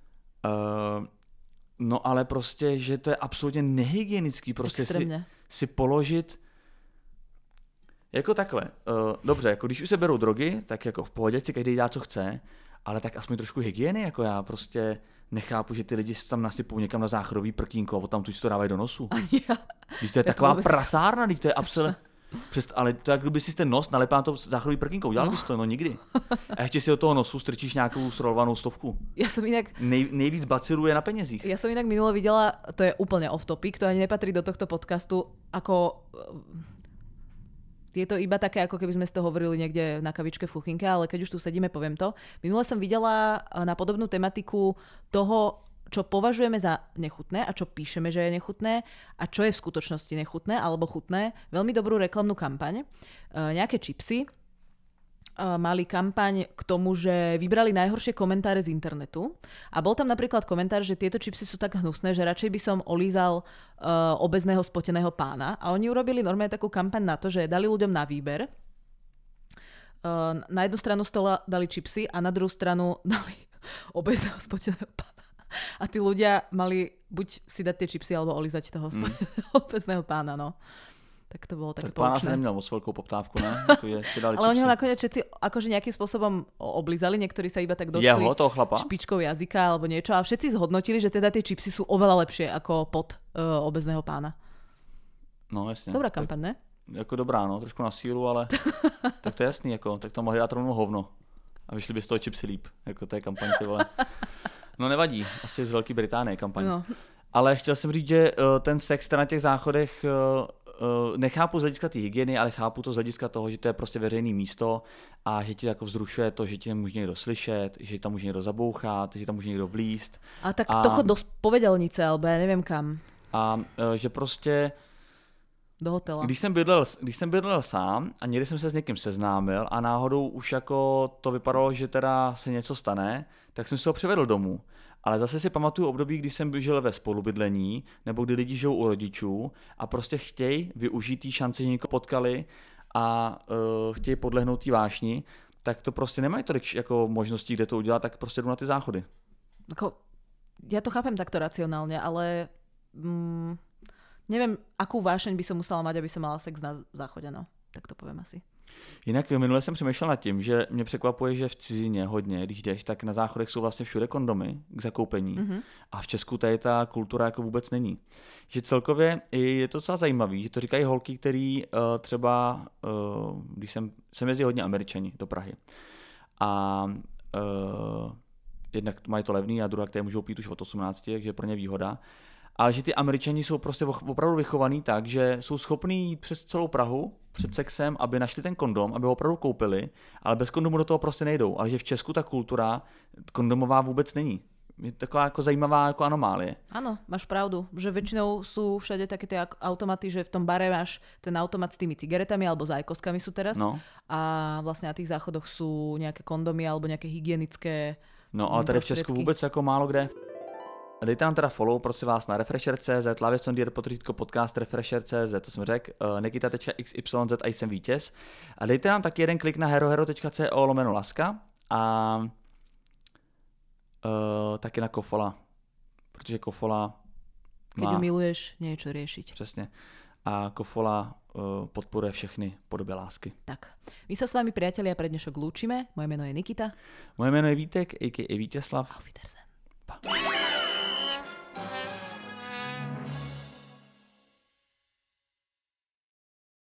No ale prostě, že to je absolutně nehygienický prostě si položit jako takhle. Dobře, jako když už se berou drogy, tak jako v pohodě si každý dá, co chce, ale tak aspoň trošku hygieny, jako já prostě nechápu, že ty lidi se tam nasypou někam na záchodový prkínko a tam tu si to dávají do nosu. Když to je taková prasárna, když to je absolutně... Ale to jak kdyby si ten nos nalepil na to záchodový prkínko, udělal bys to, no nikdy. A ještě si do toho nosu strčíš nějakou srolovanou 100. Ja som inak... Nejvíc bacilů je na penězích. Ja som inak minule videla, to je úplne off topic, to ani nepatrí do tohto podcastu, ako... Je to iba také, ako keby sme si to hovorili niekde na kavičke v kuchynke, ale keď už tu sedíme, poviem to. Minule som videla na podobnú tematiku toho, čo považujeme za nechutné a čo píšeme, že je nechutné a čo je v skutočnosti nechutné alebo chutné. Veľmi dobrú reklamnú kampaň. Nejaké čipsy mali kampaň k tomu, že vybrali najhoršie komentáre z internetu a bol tam napríklad komentár, že tieto čipsy sú tak hnusné, že radšej by som olízal obezného spoteného pána a oni urobili normálne takú kampaň na to, že dali ľuďom na výber. Na jednu stranu stola dali čipsy a na druhú stranu dali obezného spoteného pána. A tí ľudia mali buď si dať tie čipsy alebo olízať toho obezného pána, no. Tak to bolo také poučné. Tak pána sa neměl moc veľkou poptávku, ne? Si dali ale oni ho nakoniec všetci akože nejakým spôsobom oblízali, niektorí sa iba tak dotkli toho chlapa? Špičkou jazyka alebo niečo a všetci zhodnotili, že teda tie čipsy sú oveľa lepšie ako pod obezného pána. No jasne. Dobrá kampaň, ne? Jako dobrá, no, trošku na sílu, ale tak to je jasný, jako, tak to mohli dát rovnou hovno. A vyšli by z toho čipsy líp, jako to je kampaň, ty vole. No nevadí, asi z Velké Británie kampaň. No. Ale chtěl jsem říct, že ten sex na těch záchodech nechápu z hlediska té hygieny, ale chápu to z hlediska toho, že to je prostě veřejné místo a že ti jako vzrušuje to, že ti může někdo slyšet, že tam může někdo zabouchat, že tam může někdo vlíst. A tak to chod do spovedelnice, alebo já nevím kam. A že prostě do hotela. Když jsem bydlel sám a někdy jsem se s někým seznámil a náhodou už jako to vypadalo, že teda se něco stane, tak jsem si ho přivedl domů. Ale zase si pamatuju období, kdy jsem žil ve spolubydlení, nebo kdy lidi žijou u rodičů a prostě chtějí využít té šance, že někoho potkali a chtějí podlehnout té vášni, tak to prostě nemají tolik jako možností, kde to udělat, tak prostě jdu na ty záchody. Ja to chápem takto racionálne, ale neviem, akú vášeň by som musela mať, aby som mala sex na záchode, no. Tak to poviem asi. Jinak minule jsem přemýšlel nad tím, že mě překvapuje, že v cizině hodně, když jdeš, tak na záchodech jsou vlastně všude kondomy k zakoupení a v Česku tady ta kultura jako vůbec není. Že celkově je to docela zajímavý, že to říkají holky, který třeba, když jsem jezdil hodně Američani do Prahy a jednak mají to levný a druhá, které můžou pít už od 18, takže je pro ně výhoda. Ale že ty Američani jsou prostě opravdu vychovaný tak, že jsou schopní jít přes celou Prahu před sexem, aby našli ten kondom, aby ho opravdu koupili, ale bez kondomu do toho prostě nejdou. Ale že v Česku ta kultura kondomová vůbec není. Je taková jako zajímavá jako anomálie. Áno, máš pravdu, že väčšinou sú všade také tie automaty, že v tom bare máš ten automat s tými cigaretami alebo s ajkoskami sú teraz a vlastne na tých záchodoch sú nejaké kondomy alebo nejaké hygienické. No ale tady v Česku vůbec jako málo kde. Dejte nám teda follow, prosím vás, na Refresher.cz, /podcast Refresher.cz, to jsem řekl, nikita.xyz a jsem vítěz. A dejte nám taky jeden klik na herohero.co/laska a taky na Kofola, protože Kofola Keď ho miluješ, nie je čo riešiť. Přesně. A Kofola podporuje všechny podoby lásky. Tak, my sa s vami, priatelia, pre dnešok lúčime. Moje meno je Nikita. Moje jméno je Vítek, a.k.a. Vítězslav. Auf Wiedersehen.